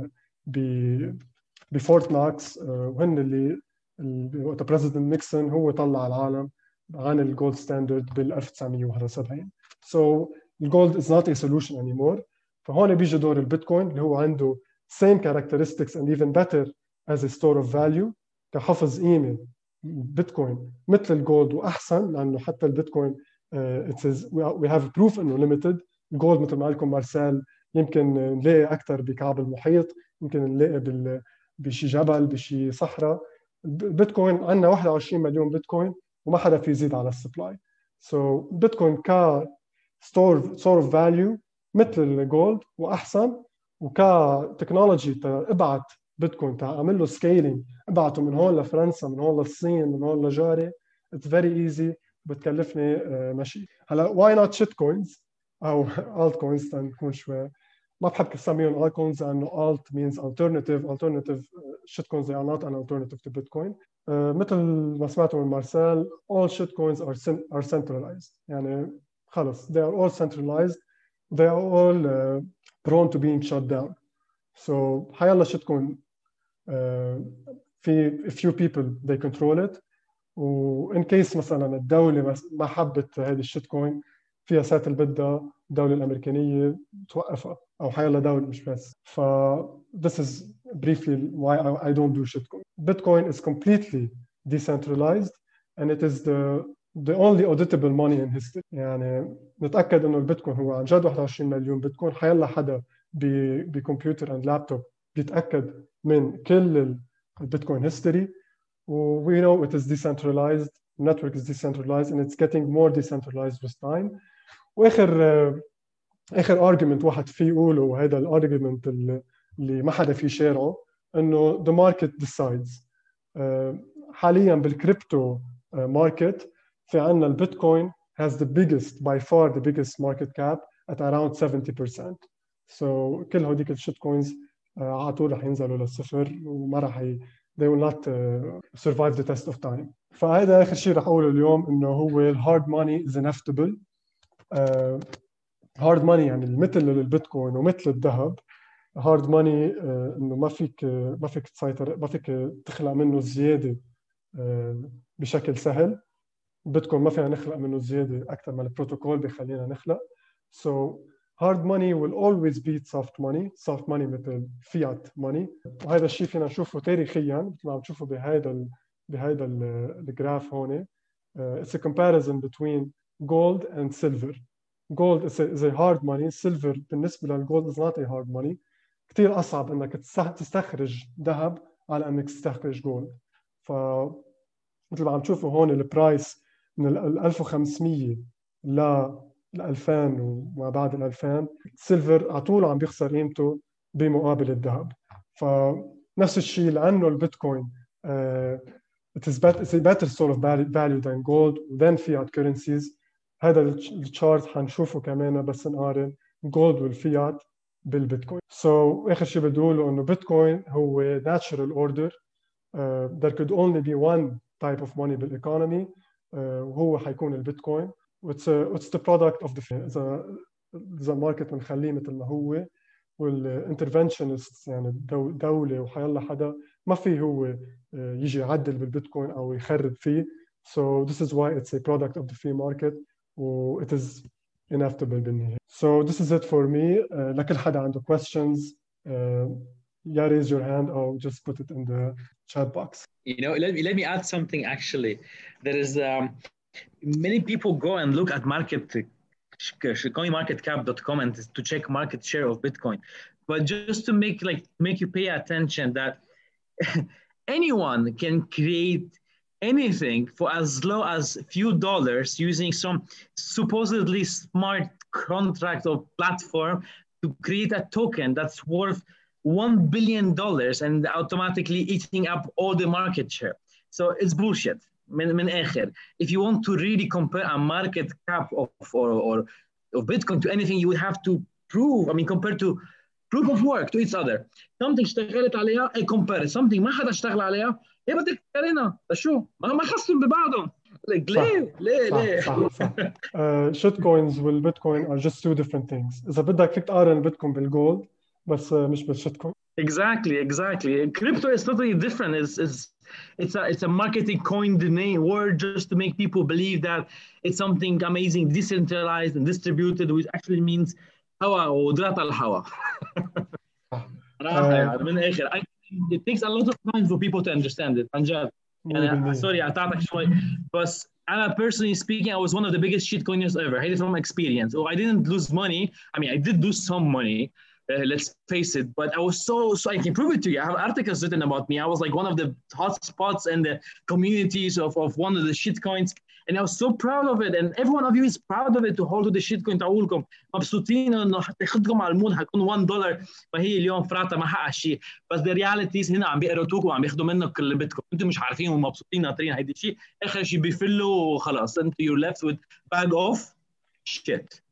بفورت نوكس، وهن اللي وقت بريزيدنت نيكسون هو طلع العالم عن الجولد ستاندرد بال 1971. الجولد is not a solution anymore. فهون بيجي دور البيتكوين اللي هو عنده same characteristics and even better as a store of value كحفظ قيمة. بيتكوين مثل الجولد وأحسن، لأنه حتى البيتكوين it says we have proof إنه limited. الجولد مثل ما قال لكم مارسيل يمكن نلاقي أكثر بكعب المحيط، يمكن نلاقي بشي جبل بشي صحراء. البيتكوين عندنا 21 مليون بيتكوين وما حدا في يزيد على السبلاي. بيتكوين ك store of value مثل الجولد واحسن، وكتكنولوجي ابعت بيتكوين اعمل له سكيلينج، ابعته من هون لفرنسا، من هون للصين، من هون لجاري. اتس فيري ايزي، بتكلفني ماشي. هلا واي نوت شيت كوينز او الت كوينز تنكون شوي ما بحب اسميهم الت كوينز لانه الت means alternative shit coins they are not an alternative to Bitcoin. مثل ما سمعتوا من مارسيل all shit coins are centralized، يعني خلص they are all centralized، they are all prone to being shut down. حيلا shit coin في a few people they control it، وإن كيس مثلا الدولة ما حبت هذه الشيت كوين فيها ساتل بدها الدولة الأمريكانية توقفها، أو حيلا دولة مش بس. this is briefly why I don't do shitcoin. Bitcoin is completely decentralized and it is the only auditable money in history. يعني نتأكد إنه البيتكوين هو عن جد 21 مليون بيتكوين. حيلا حدا بكمبيوتر and لابتوب بيتأكد من كل البيتكوين هيستوري. We know it is decentralized, the network is decentralized and it's getting more decentralized with time. واخر argument واحد فيه يقوله، وهذا الارجيومنت اللي ما حدا فيه شارعه، انه the market decides. حاليا بالكريبتو ماركت في عندنا البيتكوين has the biggest by far the biggest market cap at around 70%. So كل هوديك الشيت كوينز على طول رح ينزلوا للصفر وما رح they will not survive the test of time. فهذا آخر شيء رح أقوله اليوم إنه هو hard money is inevitable. hard money يعني مثل البيتكوين ومثل الذهب. hard money إنه ما فيك تسيطر، ما فيك تخلق منه زيادة بشكل سهل. بيتكوين ما فينا نخلق منه زيادة أكثر ما البروتوكول بيخلينا نخلق. So hard money will always beat soft money. soft money مثل fiat money. وهذا الشيء فينا نشوفه تاريخيا مثل ما عم تشوفوا بهذا الجراف هون. It's a comparison between gold and silver. Gold is a hard money. Silver بالنسبة للجولد is not a hard money. كتير أصعب إنك تستخرج ذهب على إنك تستخرج جولد. مثل ما عم تشوفوا هون البرايس من 1500 ل 2000 وما بعد ال 2000 السيلفر على طول عم بيخسر قيمته بمقابل الذهب. فنفس الشيء لأنه البيتكوين it's a better source of value than gold than fiat currencies. هذا الشارت حنشوفه كمان بس نقارن gold والفيات بالبيتكوين. So آخر شيء بدي أقوله إنه بيتكوين هو natural order. There could only be one type of money بالايكونومي وهو حيكون البيتكوين. It's the product of the إذا الماركت بنخليه مثل ما هو والانترفنشنست يعني دولة وحيلا حدا ما في هو يجي يعدل بالبيتكوين أو يخرب فيه. So this is why it's a product of the free market و it is inevitable بالنهاية. So this is it for me. لكل حدا عنده questions yeah, raise your hand or just put it in the chat box. You know, let me add something actually. There is many people go and look at coinmarketcap.com and to check market share of Bitcoin. But just to make you pay attention that anyone can create anything for as low as few dollars using some supposedly smart contract or platform to create a token that's worth $1 billion and automatically eating up all the market share. So it's bullshit. من آخر. If you want to really compare a market cap of Bitcoin to anything, you would have to prove, compare to proof of work to each other. Something اشتغلت عليها I compare. Something ما حدا اشتغل عليها ايه بدك تقارنها شو ما خصهم ببعضهم. ليه صح. shit coins والبيتكوين are just two different things. إذا بدك فيك تقارن البيتكوين بالجولد بس مش بالشيت كوين. Exactly. Crypto is totally different. It's a marketing coined name word just to make people believe that it's something amazing, decentralized and distributed, which actually means هوا ودرات الهوا. من آخر. It takes a lot of time for people to understand it. عن sorry أعطيك شوي بس أنا personally speaking I was one of the biggest shitcoiners ever. I had it from experience. I didn't lose money. I did lose some money. Let's face it, but I was so I can prove it to you. I have articles written about me. I was like one of the hot spots in the communities of one of the shitcoins, and I was so proud of it. And every one of you is proud of it to hold to the shitcoin تاعولكم. مبسوطين إنه تاخدكم على المود حيكون $1 فهي اليوم فراتة ما حقق شيء. بس the realities هنا عم بيقرطوكم وعم بياخدوا منك كل بيتكم. أنتم مش عارفين ومبسوطين ناطرين هيدي الشيء. آخر شيء بيفلوا وخلاص. أنت you're left with bag of shit.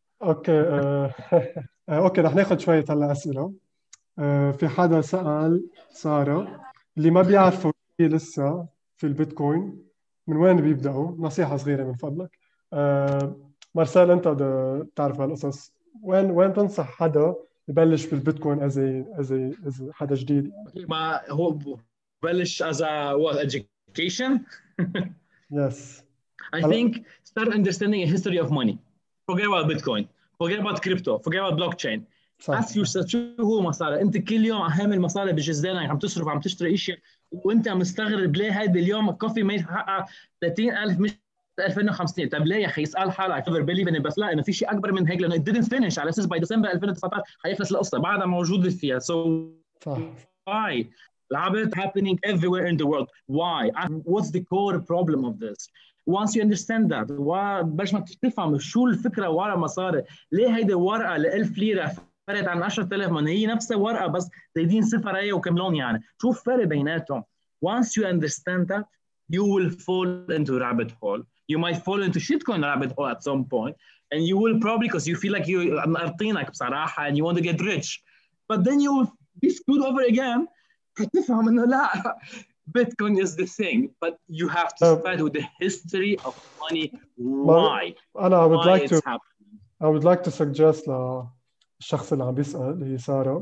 اوكي رح ناخذ شويه هلا اسئله. في حدا سال ساره اللي ما بيعرفوا لسه في البيتكوين من وين بيبداوا؟ نصيحه صغيره من فضلك. مارسيل انت بتعرف هالقصص، وين تنصح حدا يبلش بالبيتكوين از حدا جديد؟ ما هو بلش as a what education? Yes. I think start understanding a history of money. Forget about Bitcoin. Forget about crypto. Forget about blockchain. Ask yourself شو هو مصاري؟ أنت كل يوم عامل مصاري بجزدانك عم تصرف عم تشتري أشياء وأنت مستغرب ليه هيدا اليوم الكوفي ما يحقق 30,000 مش 2050. طب ليه يا أخي؟ اسأل حالك. Never believe in it. بس لا إنه في شيء أكبر من هيك لأنه it didn't finish على أساس by December 2019 حيخلص القصة بعدها موجود فيها. So why? العبث happening everywhere in the world. Why? What's the core problem of this? Once you understand that باش ما تفهم شو الفكره ورا مصاري، ليه هيدي ورقه ل 1000 ليره فرقت عن 10,000 من هي نفسها ورقه بس زايدين صفر هي وكملون يعني، شوف فرق بيناتهم. Once you understand that you will fall into rabbit hole. you might fall into shitcoin rabbit hole at some point, and you will probably, because you feel like you're مقرطينك بصراحة and you want to get rich, but then you will be screwed over again. هتفهم إنه لا, Bitcoin is the thing, but you have to start with the history of money. Why? I would Why like it's to happening. I would like to suggest للشخص اللي عم بيسأل هي سارة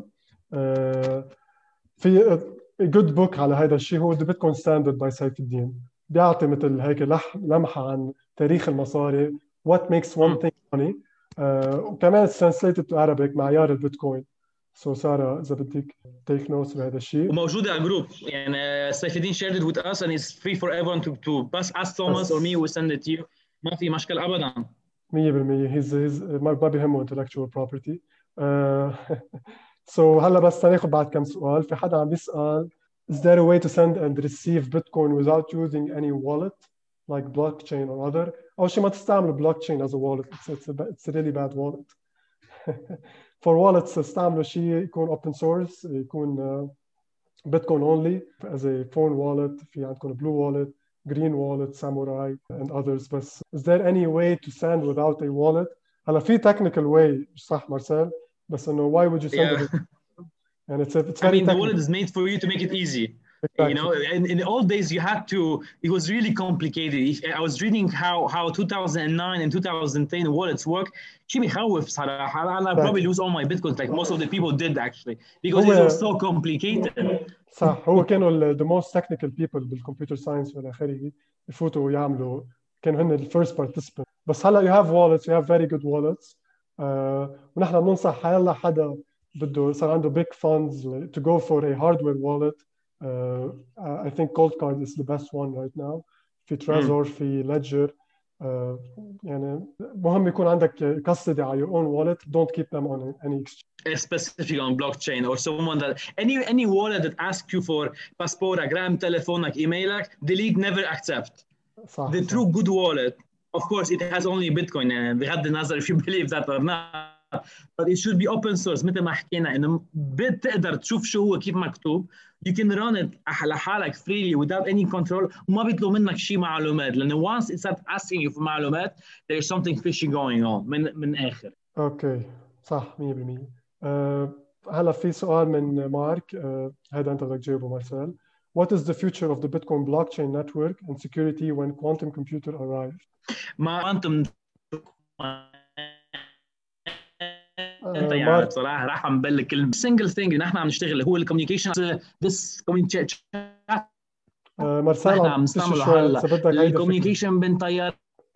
في a good book على هذا الشيء هو The Bitcoin Standard by سيف الدين. بيعطي مثل هيك لمحة عن تاريخ المصاري, what makes one thing money, وكمان it's translated to Arabic معيار البيتكوين. So سارة إذا بدك take notes بهذا الشيء. وموجودة على الجروب يعني سيف الدين shared it with us and it's free for everyone to pass ask Thomas or me we send it to you. ما في مشكلة أبدا. 100% he's ما بيهمه intellectual property. So هلا بس ناخذ بعد كم سؤال. في حدا عم بيسأل is there a way to send and receive Bitcoin without using any wallet like blockchain or other? أول شيء ما تستعملوا blockchain as a wallet. It's a really bad wallet. For wallets استعملوا شيء يكون open source, يكون Bitcoin only as a phone wallet. في عندكم blue wallet, green wallet, samurai and others. But is there any way to send without a wallet? هلا في technical way صح مارسيل, بس إنه why would you send it? And it's very I mean, technical. the wallet is made for you to make it easy. Exactly. You know, in the old days, you had to, it was really complicated. I was reading how 2009 and 2010 wallets work. شيء بيخوف صراحة. I'll probably lose all my Bitcoins like most of the people did actually because it was so complicated. صح, هو كانوا the most technical people بالcomputer science والى آخره يفوتوا ويعملوا, كانوا هن the first participants. بس هلا you have wallets, you have very good wallets. ونحن بننصح حيلا حدا بده صار عنده big funds to go for a hardware wallet. I think Coldcard is the best one right now. في Trezor, في Ledger. يعني مهم يكون عندك custody على your own wallet. Don't keep them on any exchange. Specifically on blockchain or someone that any wallet that asks you for passport, gram, telefonك, emailك, delete, never accept. صح, the صح. true good wallet, of course, it has only Bitcoin. بغض النظر if you believe that or not. But it should be open source. مثل ما حكينا إنه بتقدر تشوف شو هو كيف مكتوب. You can run it لحالك freely without any control. وما بيطلب منك شيء معلومات. لأنه once it starts asking you for معلومات, there's something fishy going on من آخر. أوكي, صح 100%. هلا في سؤال من مارك. هذا أنت بدك تجاوبه مارسيل. What is the future of the Bitcoin blockchain network and security when quantum computer arrive? quantum انت يعني بصراحه راح نبلغ كلمه single thing اللي نحن عم نشتغل هو الكوميونيكيشن. this communication مارسيل نحن عم نستعمله هلا الكوميونيكيشن بين طيارة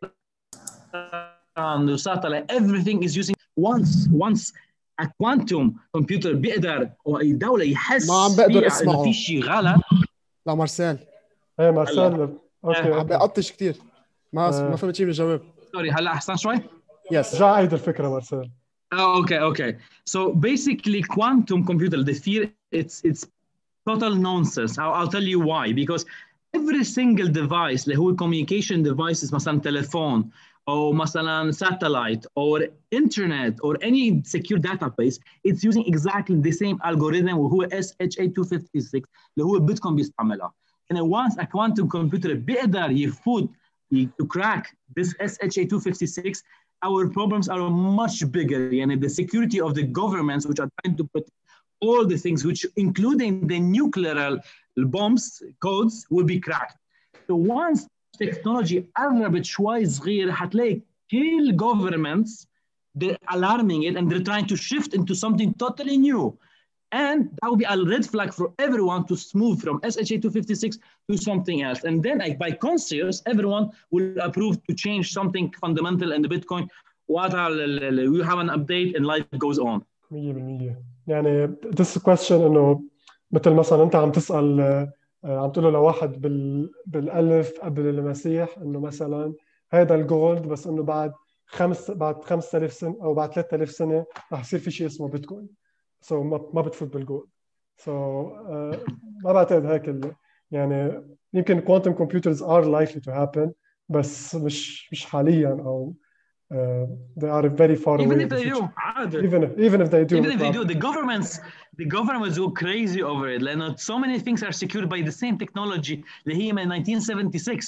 وساتلايت. everything is using once a quantum computer بيقدر الدوله يحس ما عم بقدر فيها اسمعه انه في شيء غلط. لا مارسيل ايه مارسيل اوكي عم بقطش كثير ما فهمت شيء بالجواب. سوري هلا احسن شوي. يس رجع عيد الفكره مارسيل. Okay. So basically, quantum computer, the fear, it's total nonsense. I'll tell you why. Because every single device, اللي هو communication devices, مثلا تلفون أو مثلا satellite or internet or any secure database, it's using exactly the same algorithm وهو SHA-256 اللي هو بيتكوين بيستعملها. And once a quantum computer بيقدر يفوت to crack this SHA-256, our problems are much bigger. And the security of the governments, which are trying to protect all the things, which including the nuclear bombs codes, will be cracked. So once technology قربت شوي صغير, هتلاقي كل governments they're alarming it and they're trying to shift into something totally new. And that will be a red flag for everyone to move from SHA-256 to something else. And then by consensus, everyone will approve to change something fundamental in the Bitcoin. We have an update and life goes on. 100%. يعني this question إنه مثل مثلا أنت عم تسأل عم تقول له لواحد بالألف قبل المسيح إنه مثلا هذا الجولد, بس إنه بعد 5000 سنة أو بعد 3000 سنة رح يصير في شيء اسمه بيتكوين. So ما بتفوت بالجولد. So ما بعتقد هيك يعني يمكن quantum computers are likely to happen بس مش حاليا أو they are very far away. Even if they do, even if they do, the governments go crazy over it. لأنه so many things are secured by the same technology اللي هي من 1976.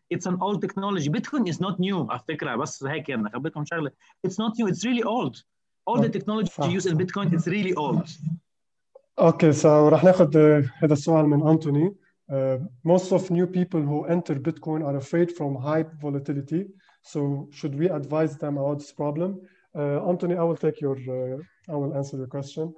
it's an old technology. Bitcoin is not new على فكرة. بس هيك يعني خبركم شغلة. It's not new. It's really old. All the technology used in Bitcoin is really old. اوكي رح ناخذ هذا السؤال من أنتوني. Most of new people who enter Bitcoin are afraid from high volatility. So should we advise them about this problem? Anthony, I will answer your question.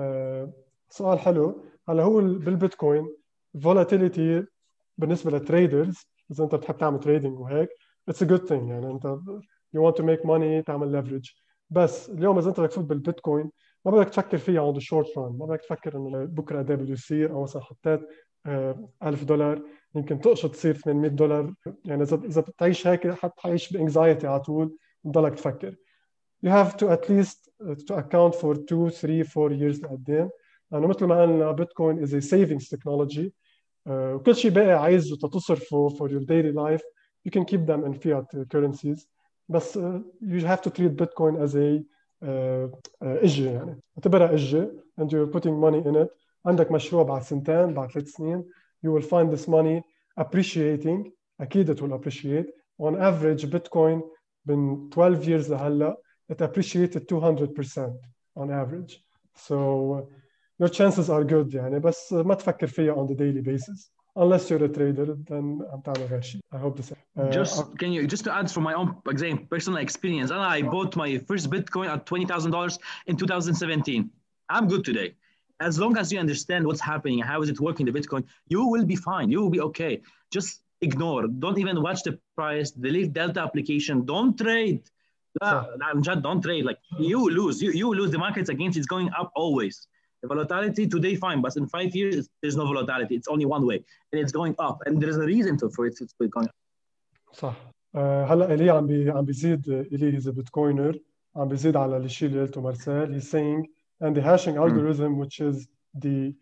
سؤال حلو. هلا هو بالبيتكوين volatility بالنسبة للتريدرز، إذا أنت بتحب تعمل تريدينج وهيك it's a good thing. يعني أنت you want to make money تعمل leverage. بس اليوم إذا أنت بدك تفوت بالبيتكوين ما بدك تفكر فيها on the short run. ما بدك تفكر إنه بكرة قد إيه بده يصير، أو مثلا حطيت $1000 يمكن تقشط تصير $800. يعني إذا بتعيش هيك حتعيش بانكزايتي على طول وتضلك تفكر. You have to at least to account for 2, 3, 4 years لقدام، لأنه مثل ما قلنا بيتكوين is a savings technology. وكل شيء باقي عايزه تصرفه for your daily life you can keep them in fiat currencies. بس you have to treat Bitcoin as a إجة، يعني اعتبرها إجة and you're putting money in it. عندك مشروع بعد سنتين بعد 3 سنين you will find this money appreciating. أكيد it will appreciate. On average Bitcoin من 12 years لهلا it appreciated 200% on average. So your chances are good يعني، بس ما تفكر فيها on the daily basis unless you're a trader. Then عم تعمل غير شيء. I hope this. Just to add from my own example, personal experience, and I bought my first Bitcoin at $20,000 in 2017. I'm good today. As long as you understand what's happening, how is it working, the Bitcoin, you will be fine. You will be okay. Just ignore. Don't even watch the price. Delete Delta application. Don't trade. Don't trade. Like you lose. You lose. The market's against. It's going up always. The volatility today fine, but in 5 years there's no volatility. It's only one way, and it's going up. And there's a reason for it. It's going up. صح. هلا إلي عم بيزيد. إلي he's a Bitcoiner. عم بيزيد على الشيء اللي قلته مارسيل. He's saying and the hashing algorithm which is the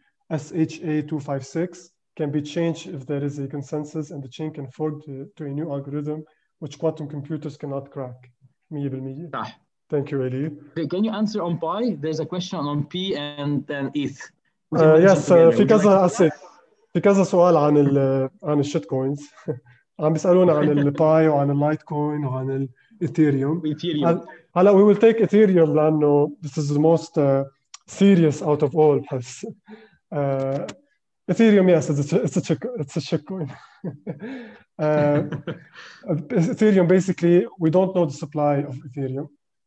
SHA-256 can be changed if there is a consensus and the chain can fork to a new algorithm which quantum computers cannot crack. 100%. صح. Thank you, Eli. Can you answer on Pi? There's a question on P and ETH. Yes, في كذا سؤال عن الشيت كوينز. عم بيسألونا عن الباي وعن اللايت كوين وعن الايثيريوم. هلا we will take ethereum لأنه this is the most serious out of all. بحس ethereum, yes, it's a shit coin. Ethereum, basically we don't know the supply of ethereum.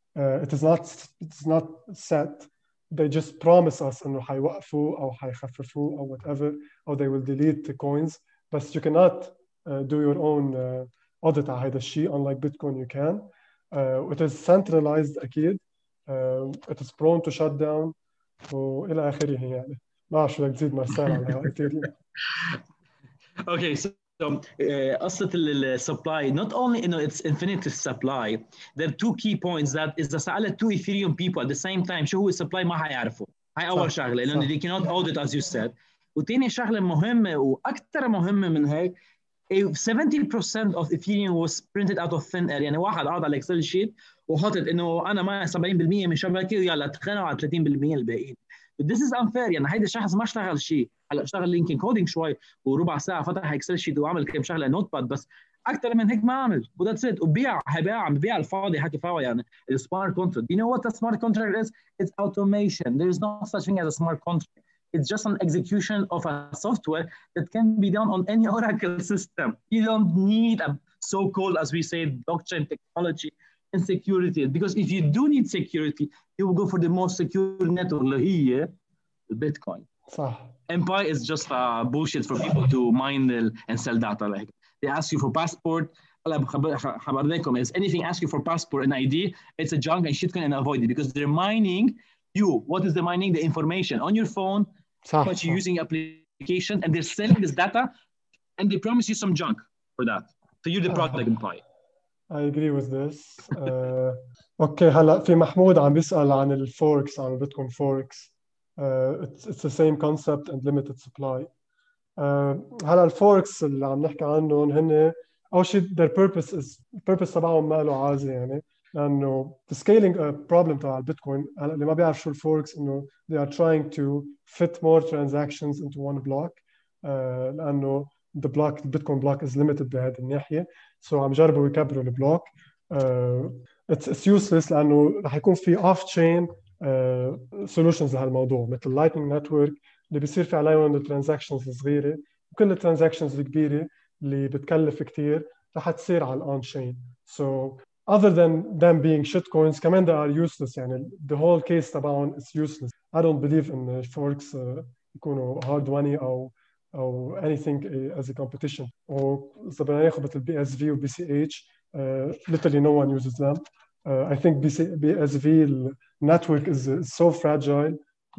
It's not set. They just promise us إنه حيوقفوا أو حيخففوا أو whatever, or they will delete the coins. But you cannot do your own audit على هذا الشيء. Unlike Bitcoin you can. It is centralized أكيد. It is prone to shut down وإلى آخره يعني. ما أعرف شو بدك تزيد مارسيل على ethereum. Okay, so قصة supply, not only it's infinite supply, there are two key points that إذا سألت two Ethereum people at the same time شو هو supply ما حيعرفوا. هاي أول شغلة لأنه they cannot audit as you said. وتاني شغلة مهمة وأكثر مهمة من هيك 70% of Ethereum was printed out of thin air. يعني واحد قاعد على الإكسل شيت وحطت إنه أنا معي 70% من شبكة ويلا تخانقوا على 30% الباقيين. This is unfair. يعني هيدا الشخص ما اشتغل شيء. هلا اشتغل لينكين كودينج شوي وربع ساعه فتح اكسل شيت وعمل كم شغله نوت باد، بس اكثر من هيك ما عمل. وذاتس ات. وبيع عم ببيع الفاضي حكي فاضي. يعني السمارت كونتراكت. You know what a smart contract is? It's automation. There is no such thing as a smart contract. It's just an execution of a software that can be done on any Oracle system. You don't need a so-called, as we say, blockchain technology and security. Because if you do need security, you will go for the most secure network اللي هي Bitcoin. صح. Empire is just bullshit for people to mine and sell data. Like they ask you for passport. خبرناكم is anything ask you for passport and ID, it's a junk and shit can avoid it because they're mining you. What is the mining? The information on your phone, how much you're using application, and they're selling this data and they promise you some junk for that. So you're the product Empire. I agree with this. اوكي هلا في محمود عم بيسأل عن الفوركس، عن البيتكوين فوركس. It's the same concept and limited supply. هلا الفوركس اللي عم نحكي عنهم هن أول شيء their purpose تبعهم ما له عازة يعني، لأنه the scaling problem تبع البيتكوين هلا اللي ما بيعرف شو الفوركس إنه they are trying to fit more transactions into one block. لأنه the block Bitcoin block is limited بهذه الناحية. So عم جربوا يكبروا البلوك. It's useless لأنه رح يكون في off chain solutions لهالموضوع مثل Lightning Network اللي بيصير في عليهم الترانزاكشنز الصغيرة، وكل الترانزاكشنز الكبيرة اللي بتكلف كتير رح تصير على on chain. So other than them being shitcoins كمان they are useless. يعني the whole case تبعهم is useless. I don't believe in forks يكونوا hard money أو anything as a competition. وإذا بدنا ناخذ مثل BSV و BCH literally no one uses them. I think BSV network is so fragile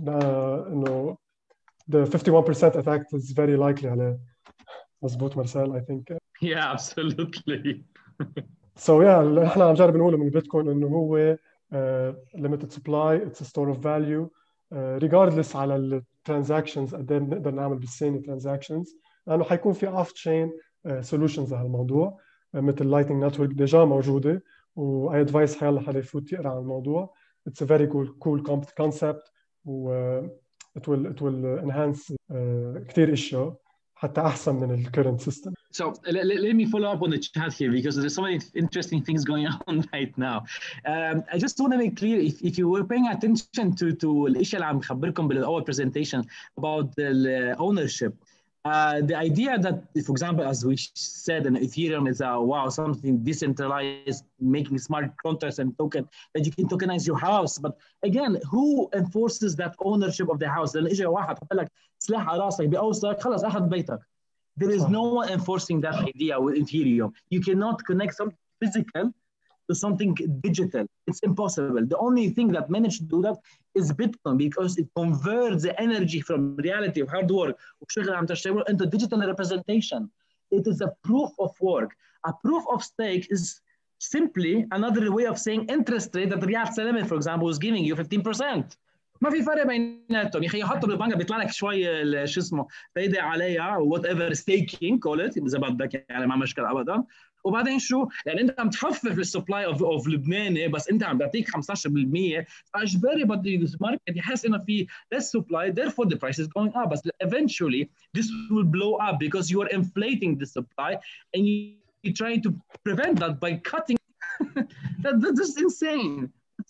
إنه the 51% attack is very likely عليه. مزبوط مرسال I think. Yeah, absolutely. So yeah اللي احنا عم نجرب نقوله من البيتكوين انه هو limited supply, it's a store of value regardless على الترانزاكشنز قد ايه بنقدر نعمل بالثانية transactions، لانه حيكون في off chain solutions لهالموضوع مثل Lightning Network ديجا موجودة، واي ادفايس حيلا حدا يفوت يقرا عن الموضوع. It's a very cool concept و it will enhance كتير اشياء حتى احسن من ال current system. So let me follow up on the chat here because there's so many interesting things going on right now. I just want to make clear if you were paying attention to الاشياء اللي عم بخبركم بالاول presentation about the ownership. The idea that, for example, as we said, Ethereum is something decentralized, making smart contracts and token that you can tokenize your house. But again, who enforces that ownership of the house? لأن إجا واحد حط لك سلاح على راسك بأوصلك خلاص أخذ بيتك. There is no one enforcing that idea with Ethereum. You cannot connect something physical to something digital. It's impossible. The only thing that managed to do that is Bitcoin because it converts the energy from reality of hard work into digital representation. It is a proof of work. A proof of stake is simply another way of saying interest rate that Riyad Salami, for example, is giving you 15%. ما في فرق بيناتهم يا اخي، يحطوا بالبنك بيطلع لك شوي شو اسمه فايده عليها وات ايفر ستيكينج كول ات اذا بدك، يعني ما مشكله ابدا. وبعدين شو يعني انت عم تخفف السبلاي اوف لبناني بس انت عم تعطيك 15%، فاجباري بده الماركت يحس انه في less supply therefore the price is going up. But eventually this will blow up because you are inflating the supply and you're trying to prevent that by cutting. That's just insane.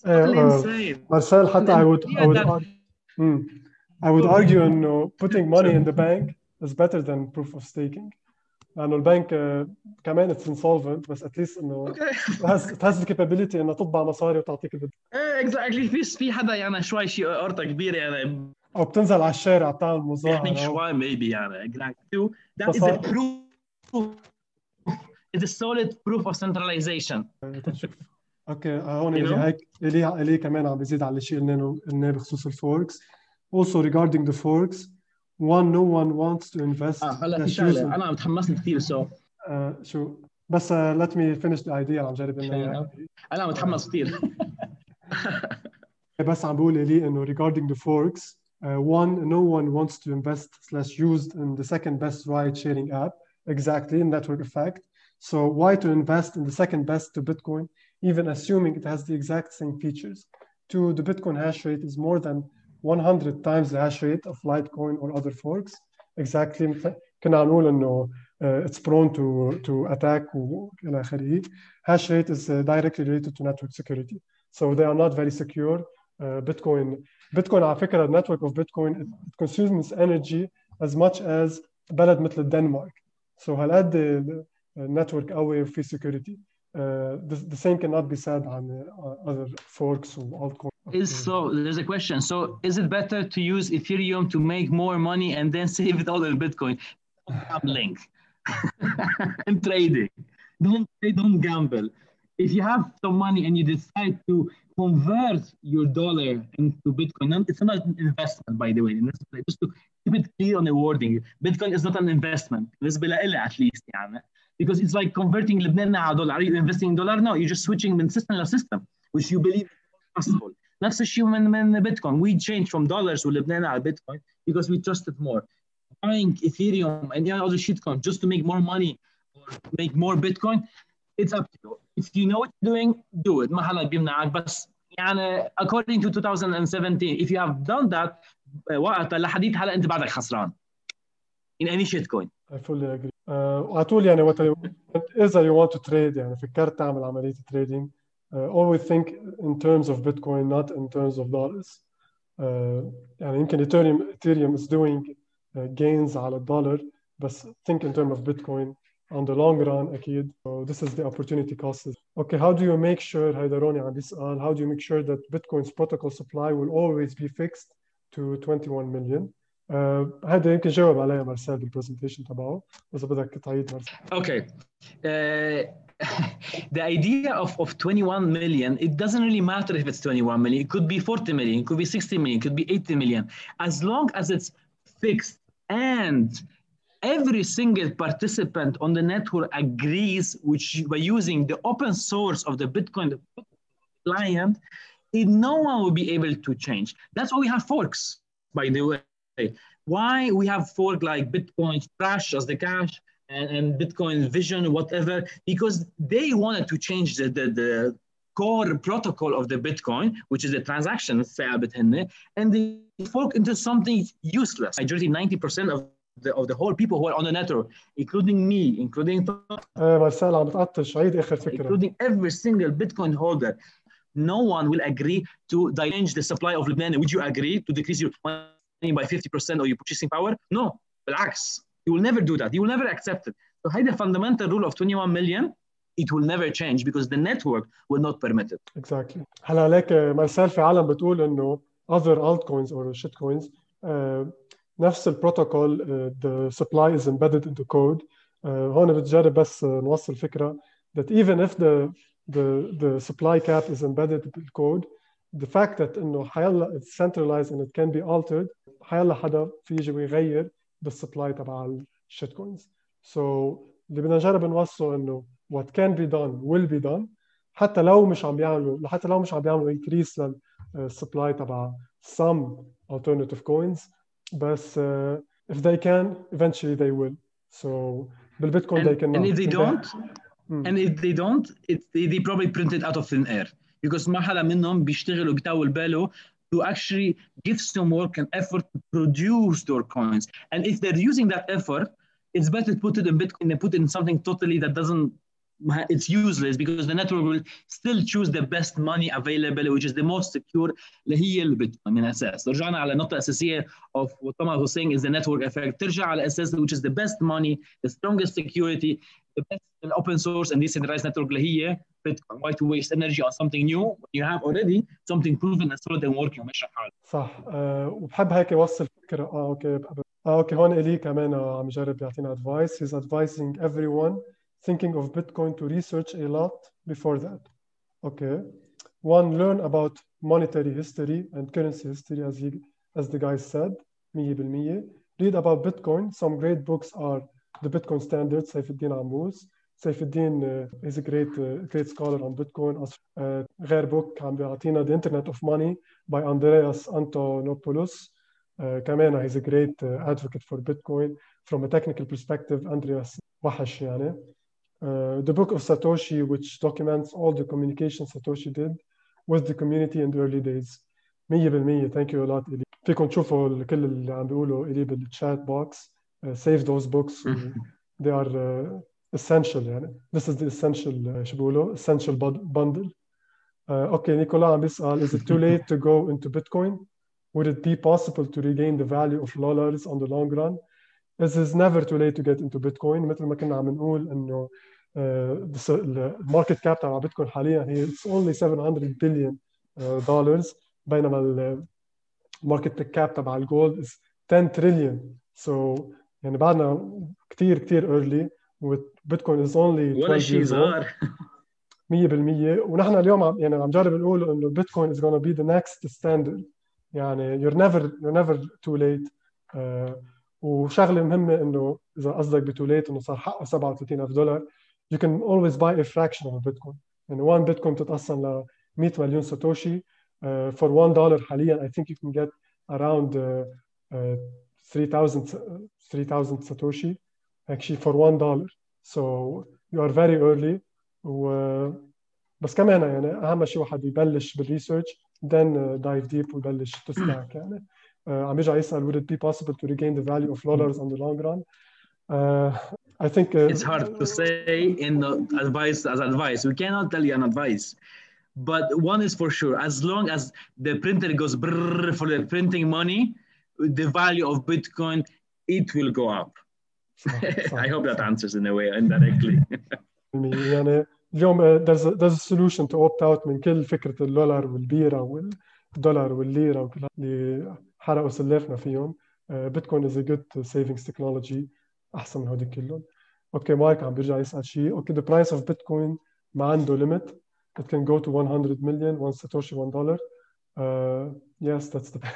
Marcel, حتى I would argue إنه putting money in the bank is better than proof of staking. لأنه البنك كمان it's insolvent بس at least إنه it has the capability إنه تطبع مصاري وتعطيك اللي بدك. Exactly. في حدا يعني شوي شيء قرطة كبيرة يعني. أو بتنزل على الشارع بتعمل مظاهرة. يعني شوي maybe يعني. Exactly. That is a proof. It's a solid proof of centralization. اوكي هون اللي كمان عم بيزيد على الشيء اللي قلناه بخصوص الفوركس. Also regarding the forks, no one wants to invest. هلا في شغله انا متحمست كثير شو بس let me finish the idea عم جرب انه انا متحمس كثير. بس عم بقول لي انه regarding the forks, no one wants to invest/use in the second best ride sharing app. Exactly, network effect. So why to invest in the second best to Bitcoin, even assuming it has the exact same features? Two, the Bitcoin hash rate is more than 100 times the hash rate of Litecoin or other forks. Exactly. كنا نقول إنه it's prone to attack وإلى آخره. Hash rate is directly related to network security. So they are not very secure. Bitcoin على فكرة the network of Bitcoin it consumes energy as much as بلد مثل الدنمارك. So هالقد network قوي وفي security. The same cannot be said on other forks or altcoins. So there's a question. So is it better to use Ethereum to make more money and then save it all in Bitcoin? Gambling and trading. Don't gamble. If you have some money and you decide to convert your dollar into Bitcoin, it's not an investment, by the way. Just to keep it clear on the wording, Bitcoin is not an investment. بالنسبة لي at least يعني. Because it's like converting Lebanon على dollar. Are you investing in dollar? No, you're just switching from system to system, which you believe is possible. نفس الشيء من Bitcoin. We changed from dollars to Lebanon على Bitcoin because we trusted more. Buying Ethereum and other shitcoin just to make more money or make more Bitcoin, it's up to you. If you know what you're doing, do it. ما حدا بيمنعك بس يعني according to 2017, if you have done that وقتها لحديت هلا أنت بعدك خسران in any shitcoin. I fully agree. وعطول يعني إذا you want to trade يعني فكرت تعمل عملية trading always think in terms of Bitcoin not in terms of dollars. يعني يمكن Ethereum is doing gains على الدولار بس think in terms of Bitcoin on the long run أكيد. So this is the opportunity cost. Okay, how do you make sure هيدا عم بيسأل how do you make sure that Bitcoin's protocol supply will always be fixed to 21 million? هذا يمكن جاوب عليها مارسيل بالبرزنتيشن تبعه إذا بدك تعيد مارسيل. Okay. The idea of 21 million, it doesn't really matter if it's 21 million. It could be 40 million, it could be 60 million, it could be 80 million. As long as it's fixed and every single participant on the network agrees, which by using the open source of the Bitcoin client, no one will be able to change. That's why we have forks, by the way. Why we have fork like Bitcoin Trash as the cash and Bitcoin Vision, whatever, because they wanted to change the core protocol of the Bitcoin, which is the transaction ثابت هن, and they fork into something useless. Majority 90% of the whole people who are on the network, including me, including مارسيل عم بتعطش عيد آخر فكرة. including every single Bitcoin holder. No one will agree to change the supply of Lebanon. Would you agree to decrease your money by 50% or your purchasing power? No, بالعكس. You will never do that. You will never accept it. So هيدا fundamental rule of 21 million, it will never change because the network will not permit it. Exactly. هلا ليك مارسيل في عالم بتقول إنه other altcoins or shitcoins نفس البروتوكول the supply is embedded into code. هون بتجرب بس نوصل فكرة that even if the supply cap is embedded in the code, the fact that إنه حيلا it's centralized and it can be altered حيلا حدا في يجي ويغير بالسبلاي تبع الشيتكوينز. So اللي بدنا نجرب نوصله إنه what can be done will be done حتى لو مش عم بيعملوا increase للسبلاي تبع some alternative coins بس if they can eventually they will. So بالبيتكوين they cannot. And if they don't and if they don't they probably print it out of thin air because ما حدا منهم بيشتغل وبيطول باله to actually give some work and effort to produce their coins. And if they're using that effort, it's better to put it in Bitcoin than put it in something totally that doesn't, it's useless because the network will still choose the best money available, which is the most secure, اللي هي البيتكوين من أساس. رجعنا على نقطة أساسية of what Thomas was saying is the network effect. ترجع على أساس which is the best money, the strongest security, the best open source and decentralized network اللي هي Bitcoin. Why to waste energy on something new when you have already something proven and solid and working وماشي حاله. صح. وبحب هيك يوصل فكرة. اوكي هون إلي كمان عم يجرب يعطينا advice. He's advising everyone thinking of Bitcoin to research a lot before that. Okay. One, learn about monetary history and currency history as the guy said. 100%. Read about Bitcoin. Some great books are The Bitcoin Standard, سيف الدين عموز. سيف الدين is a great scholar on Bitcoin. غير book عم بيعطينا The Internet of Money by Andreas Antonopoulos. كمان he's a great advocate for Bitcoin from a technical perspective. Andreas وحش يعني. The Book of Satoshi, which documents all the communication Satoshi did with the community in the early days. 100%. Thank you a lot, إلي. فيكم تشوفوا كل اللي عم بيقولوا إلي بالchat box. Save those books. They are essential يعني. This is the essential شو بيقولوا essential bundle. Okay, نيكولا عم بيسأل, is it too late to go into Bitcoin? Would it be possible to regain the value of dollars on the long run? It is never too late to get into Bitcoin. مثل ما كنا عم نقول إنه الماركت كاب تبع بيتكوين حاليا هي it's only $700 billion بينما الماركت كاب تبع الجولد is 10 trillion. So يعني بعدنا كتير early وبيتكوين is only 12 years old. 100%. ونحن اليوم عم جرب نقول إنه Bitcoin is gonna be the next standard. يعني you're never too late. وشغله مهمه انه اذا قصدك بتوليت انه صار حقه $37,000 you can always buy a fraction of Bitcoin. يعني 1 Bitcoin بتتقسم ل 100 مليون ساتوشي. For $1 حاليا I think you can get around 3,000 ساتوشي actually for $1. So you are very early. بس كمان يعني اهم شيء واحد يبلش بالريسيرش then dive deep ويبلش تستاك يعني. عم يرجع يسأل would it be possible to regain the value of dollars on the long run? Uh, I think It's hard to say in the advice as advice. We cannot tell you an advice. But one is for sure, as long as the printer goes brrr for the printing money, the value of Bitcoin, it will go up. I hope that answers in a way indirectly. يعني اليوم there's a solution to opt out من كل فكرة الدولار والبيرة والدولار والليرة وكل اللي حرقوا سلافنا فيهم. بيتكوين is a good savings technology أحسن من هودي كلهم. أوكي مايك عم بيرجع يسأل شيء. أوكي the price of Bitcoin ما عنده limit. It can go to 100 million, one Satoshi, $1. Yes, that's the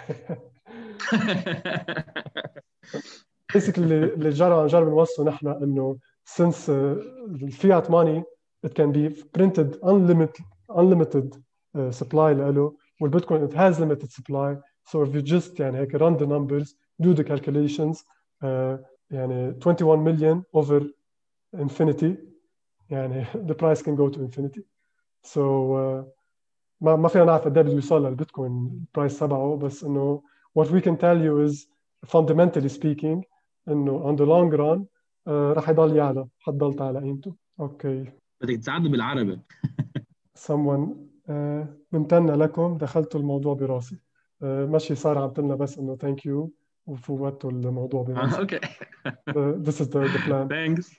basically اللي جرب نوصله نحن انه since الفيات money it can be printed unlimited supply له والبيتكوين it has limited supply. So if you just يعني هيك run the numbers, do the calculations, يعني 21 million over infinity, يعني the price can go to infinity. So ما فينا نعرف قد ايه بده يوصل للبيتكوين البرايس تبعه، بس انه what we can tell you is fundamentally speaking انه on the long run راح يضل يعلى، حتضل تعلى قيمته. اوكي بدك تساعدني بالعربي. someone ممتنة لكم، دخلتوا الموضوع براسي. ماشي صار عم تلنا بس انه thank you وفوتوا الموضوع براسي. اوكي. This is the plan. Thanks.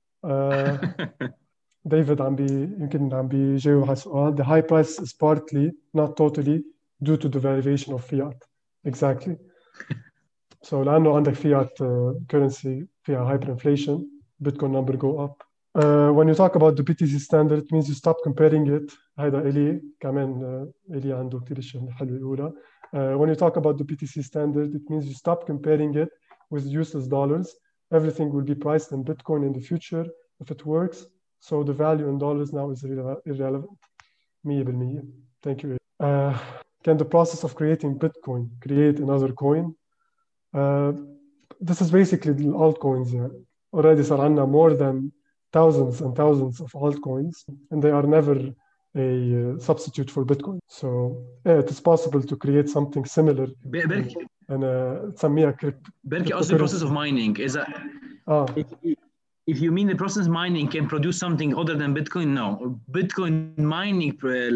ديفيد يمكن عم بيجاوب على السؤال. The high price is partly, not totally, due to the valuation of fiat. Exactly. So لأنه عندك fiat currency فيها hyperinflation, Bitcoin number go up. When you talk about the BTC standard, it means you stop comparing it. هذا إلي كمان إلي عنده كتير شيء حلو يقوله. When you talk about the BTC standard, it means you stop comparing it with useless dollars. Everything will be priced in Bitcoin in the future if it works. So the value in dollars now is irrelevant. 100%. Thank you. Can the process of creating Bitcoin create another coin? This is basically the altcoins. Already صار عندنا more than thousands and thousands of altcoins, and they are never a substitute for Bitcoin. So it is possible to create something similar. And تسميها بركي قصدي process of mining is that if you mean the process mining can produce something other than Bitcoin, no. Bitcoin mining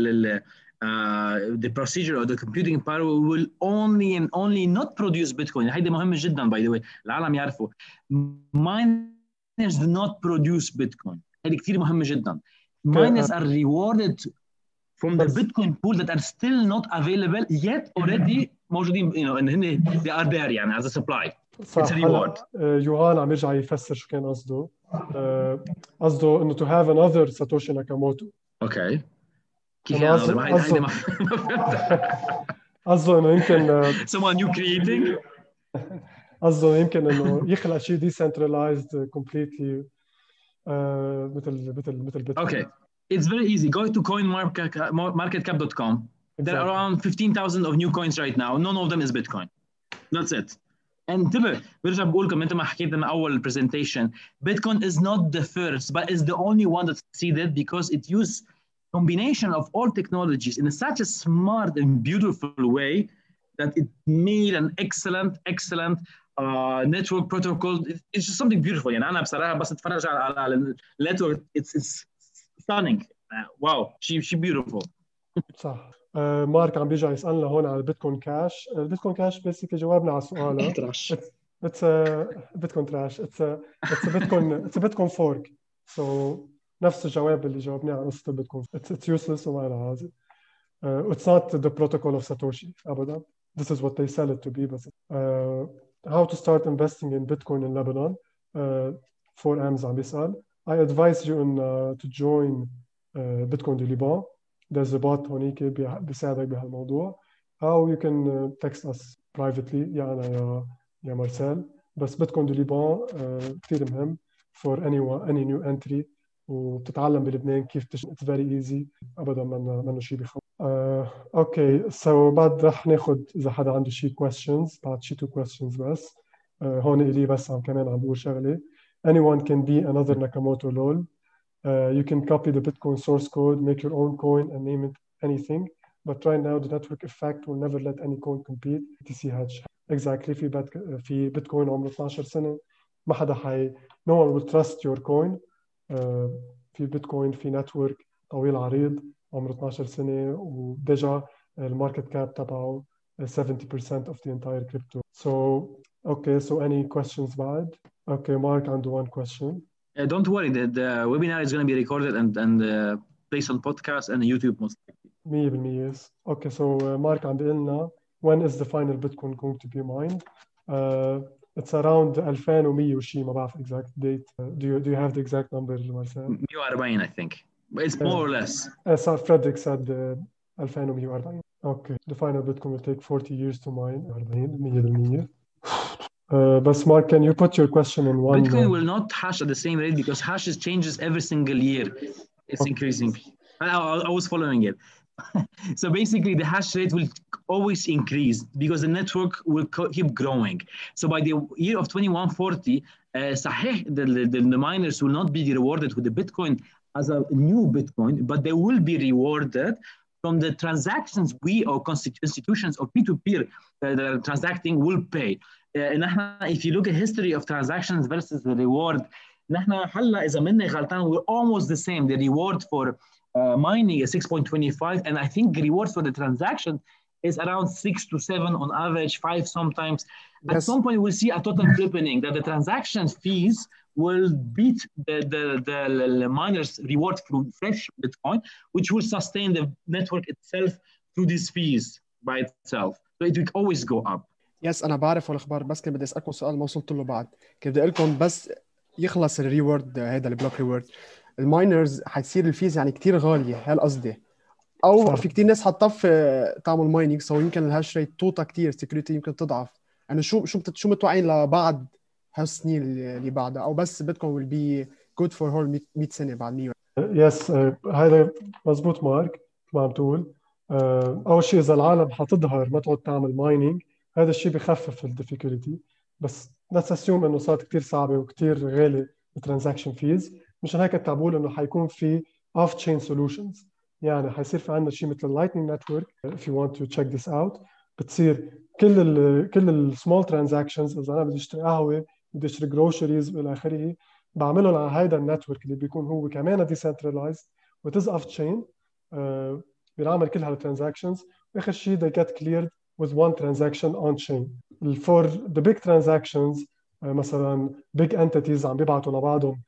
the procedure or the computing power will only and only not produce Bitcoin. هيدا مهم جدا by the way. العالم يعرفوا. Miners do not produce Bitcoin. هيدا كتير مهم جدا. Miners are rewarded from the Bitcoin pool that are still not available yet already موجودين and هن they are there يعني as a supply. It's a reward. يوهان عم يرجع يفسر شو كان قصده. قصده انه to have another Satoshi Nakamoto. اوكي. كيف يعني هيدا ما قصده انه يمكن someone new creating. قصده يمكن انه يخلق شيء decentralized completely مثل Bitcoin. Okay. It's very easy. Go to coinmarketcap.com. There are around 15,000 of new coins right now. None of them is Bitcoin. That's it. انتبه برجع بقول لكم انت ما حكيت من اول presentation. Bitcoin is not the first, but is the only one that succeeded because it used combination of all technologies in such a smart and beautiful way that it made an excellent network protocol. It's just something beautiful. يعني أنا بصراحة بس أتفرج على network. It's stunning. Wow, she beautiful. صح. مارك عم بيرجع يسألنا هون على البيتكوين كاش. البيتكوين كاش بيسكلي جاوبنا على سؤاله. It's a Bitcoin trash. It's a Bitcoin fork. So نفس الجواب اللي جاوبناه على قصة البيتكوين. It's useless وما لها هذا. It's not the protocol of Satoshi أبدا. This is what they sell it to be. But how to start investing in Bitcoin in Lebanon? 4M's عم بيسأل. I advise you to join Bitcoin du Liban. There's a bot هونيك بيساعدك بهالموضوع. How you can text us privately يا أنا يا مارسيل. بس بيتكوين دو ليبان كتير مهم for any new entry وبتتعلم بلبنان كيف It's very easy أبدا منه شيء بخوف. اوكي so بعد رح ناخد إذا حدا عنده شيء questions بعد شيء 2 questions بس. هون إلي بس كمان عم بقول شغلة. Anyone can be another Nakamoto lol. You can copy the Bitcoin source code, make your own coin and name it anything. But right now the network effect will never let any coin compete. BTC hatch. Exactly. في بيتكوين عمره 12 سنة ما حدا no one will trust your coin. في بيتكوين في نتورك طويل عريض عمره 12 سنة وديجا الماركت كاب تبعه 70% of the entire crypto. So okay, so any questions بعد؟ Okay, Mark عنده one question. Don't worry, the webinar is going to be recorded and placed on podcast and YouTube most likely. 100% yes. Okay, so Mark عم بيقول لنا when is the final Bitcoin going to be mined? It's around 2100 وشي ما بعرف exact date. Do you have the exact number, Marcel? 140 I think. But it's more or less. So Frederick said 2140. Okay, the final Bitcoin will take 40 years to mine. 100%. But Mark, can you put your question in one? Bitcoin will not hash at the same rate because hashes changes every single year. It's increasing. I was following it. So basically the hash rate will always increase because the network will keep growing. So by the year of 2140, صحيح, the miners will not be rewarded with the Bitcoin as a new Bitcoin, but they will be rewarded from the transactions we or institutions or peer-to-peer that are transacting will pay. If you look at history of transactions versus the reward, نحن هلا إذا مني غلطان we're almost the same. The reward for mining is 6.25, and I think the reward for the transaction is around 6 to 7 on average, 5 sometimes. Yes. At some point, we'll see a total tripling that the transaction fees will beat the miners' reward through fresh Bitcoin, which will sustain the network itself through these fees by itself. So it will always go up. يس أنا بعرف والأخبار، بس كنت بدي أسألكم سؤال ما وصلت له بعد. كنت بدي أقول لكم بس يخلص الريورد هذا البلوك ريورد، الماينرز حتصير الفيز يعني كتير غالية، هالقصدي. أو صح. في كتير ناس حتطف تعمل ماينينج، سو يمكن الهاش ريت توطى كتير، سيكوريتي يمكن تضعف. يعني شو متوقعين لبعد هالسنين اللي بعدها، أو بس بيتكوين will be good for whole 100 سنة بعد 100. يس هذا مزبوط مارك ما عم تقول. أول شيء إذا العالم حتظهر ما تعود تعمل ماينينج، هذا الشيء بخفف الديفيكولتي، بس let's assume إنه صارت كتير صعبة وكتير غالي الترانزاكشن فيز. مشان هيك تعبول إنه حيكون في off chain solutions، يعني حيصير في عندنا شيء مثل Lightning Network. if you want to check this out، بتصير كل ال small transactions. إذا أنا بدي أشتري قهوة، بدي أشتري groceries وإلى آخره، بعملهم على هيدا النتورك اللي بيكون هو كمان decentralized و it is off chain. بنعمل كل هالترانزاكشنز، وآخر شيء they get cleared with one transaction on chain. For the big transactions مثلا big entities عم بيبعتوا لبعضهم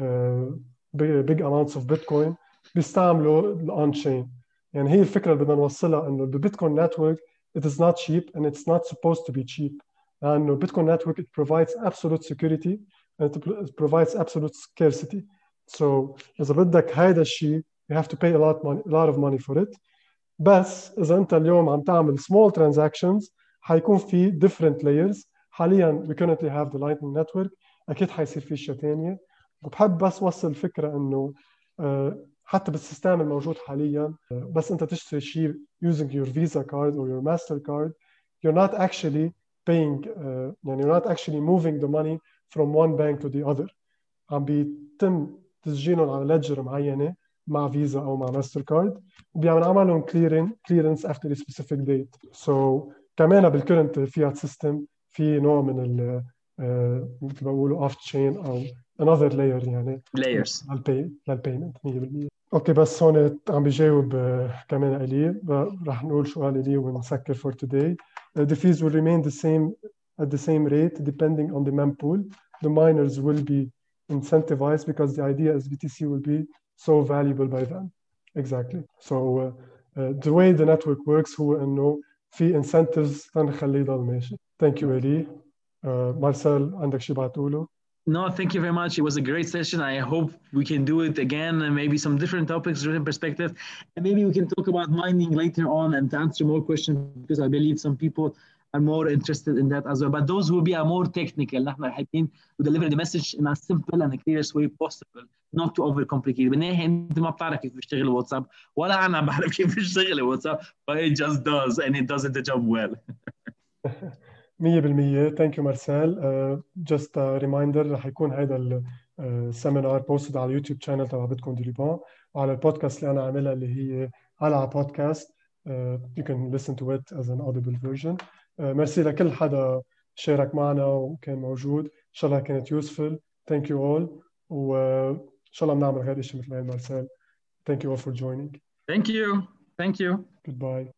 big amounts of Bitcoin، بيستعملوا on chain. يعني هي الفكرة اللي بدنا نوصلها، إنه the Bitcoin network it is not cheap and it's not supposed to be cheap. لأنه Bitcoin network it provides absolute security and it provides absolute scarcity. So إذا بدك هيدا الشيء you have to pay a lot of money for it. بس إذا أنت اليوم عم تعمل small transactions حيكون في different layers. حالياً we currently have the Lightning Network، أكيد حيصير في أشياء تانية. وبحب بس وصل الفكرة إنه حتى بالسيستم الموجود حالياً بس أنت تشتري شيء using your Visa card or your MasterCard، you're not actually paying يعني you're not actually moving the money from one bank to the other. عم بيتم تسجيلهم على ليدجر معينة مع فيزا أو مع ماستر كارد، وبيعمل عملهم clearance after a specific date. So كمان بالكرنت فيات سيستم في نوع من ال مثل ما بقولوا off chain أو another layer يعني layers للبيمنت 100%. أوكي بس هون عم بيجاوب كمان إلي، راح نقول سؤال إلي ونسكر for today. The fees will remain the same at the same rate depending on the mempool. The miners will be incentivized because the idea is BTC will be so valuable by then. Exactly. So the way the network works هو إنه في incentives تنخليه يضل ماشي. Thank you إلي. Marcel عندك شيء بعتقوله؟ No, thank you very much. It was a great session. I hope we can do it again, and maybe some different topics, different perspective, and maybe we can talk about mining later on and answer more questions, because I believe some people are more interested in that as well. But those will be more technical. نحن حابين to deliver the message in as simple and clearest way possible, not to overcomplicate. بالنهاية أنت ما بتعرف كيف بيشتغل الواتساب، ولا أنا بعرف كيف بيشتغل الواتساب، but it just does and it does the job well. 100%. Thank you Marcel. Just a reminder رح يكون هذا السيمينار بوستد على اليوتيوب شانل تبع بيتكوين دي ليبان، وعلى البودكاست اللي أنا عاملها اللي هي على بودكاست. You can listen to it as an audible version. ميرسي لكل حدا شارك معنا وكان موجود. إن شاء الله كانت useful. Thank you all. وإن شاء الله بنعمل غير شيء مثل هاي مارسيل. Thank you all for joining. Thank you. Goodbye.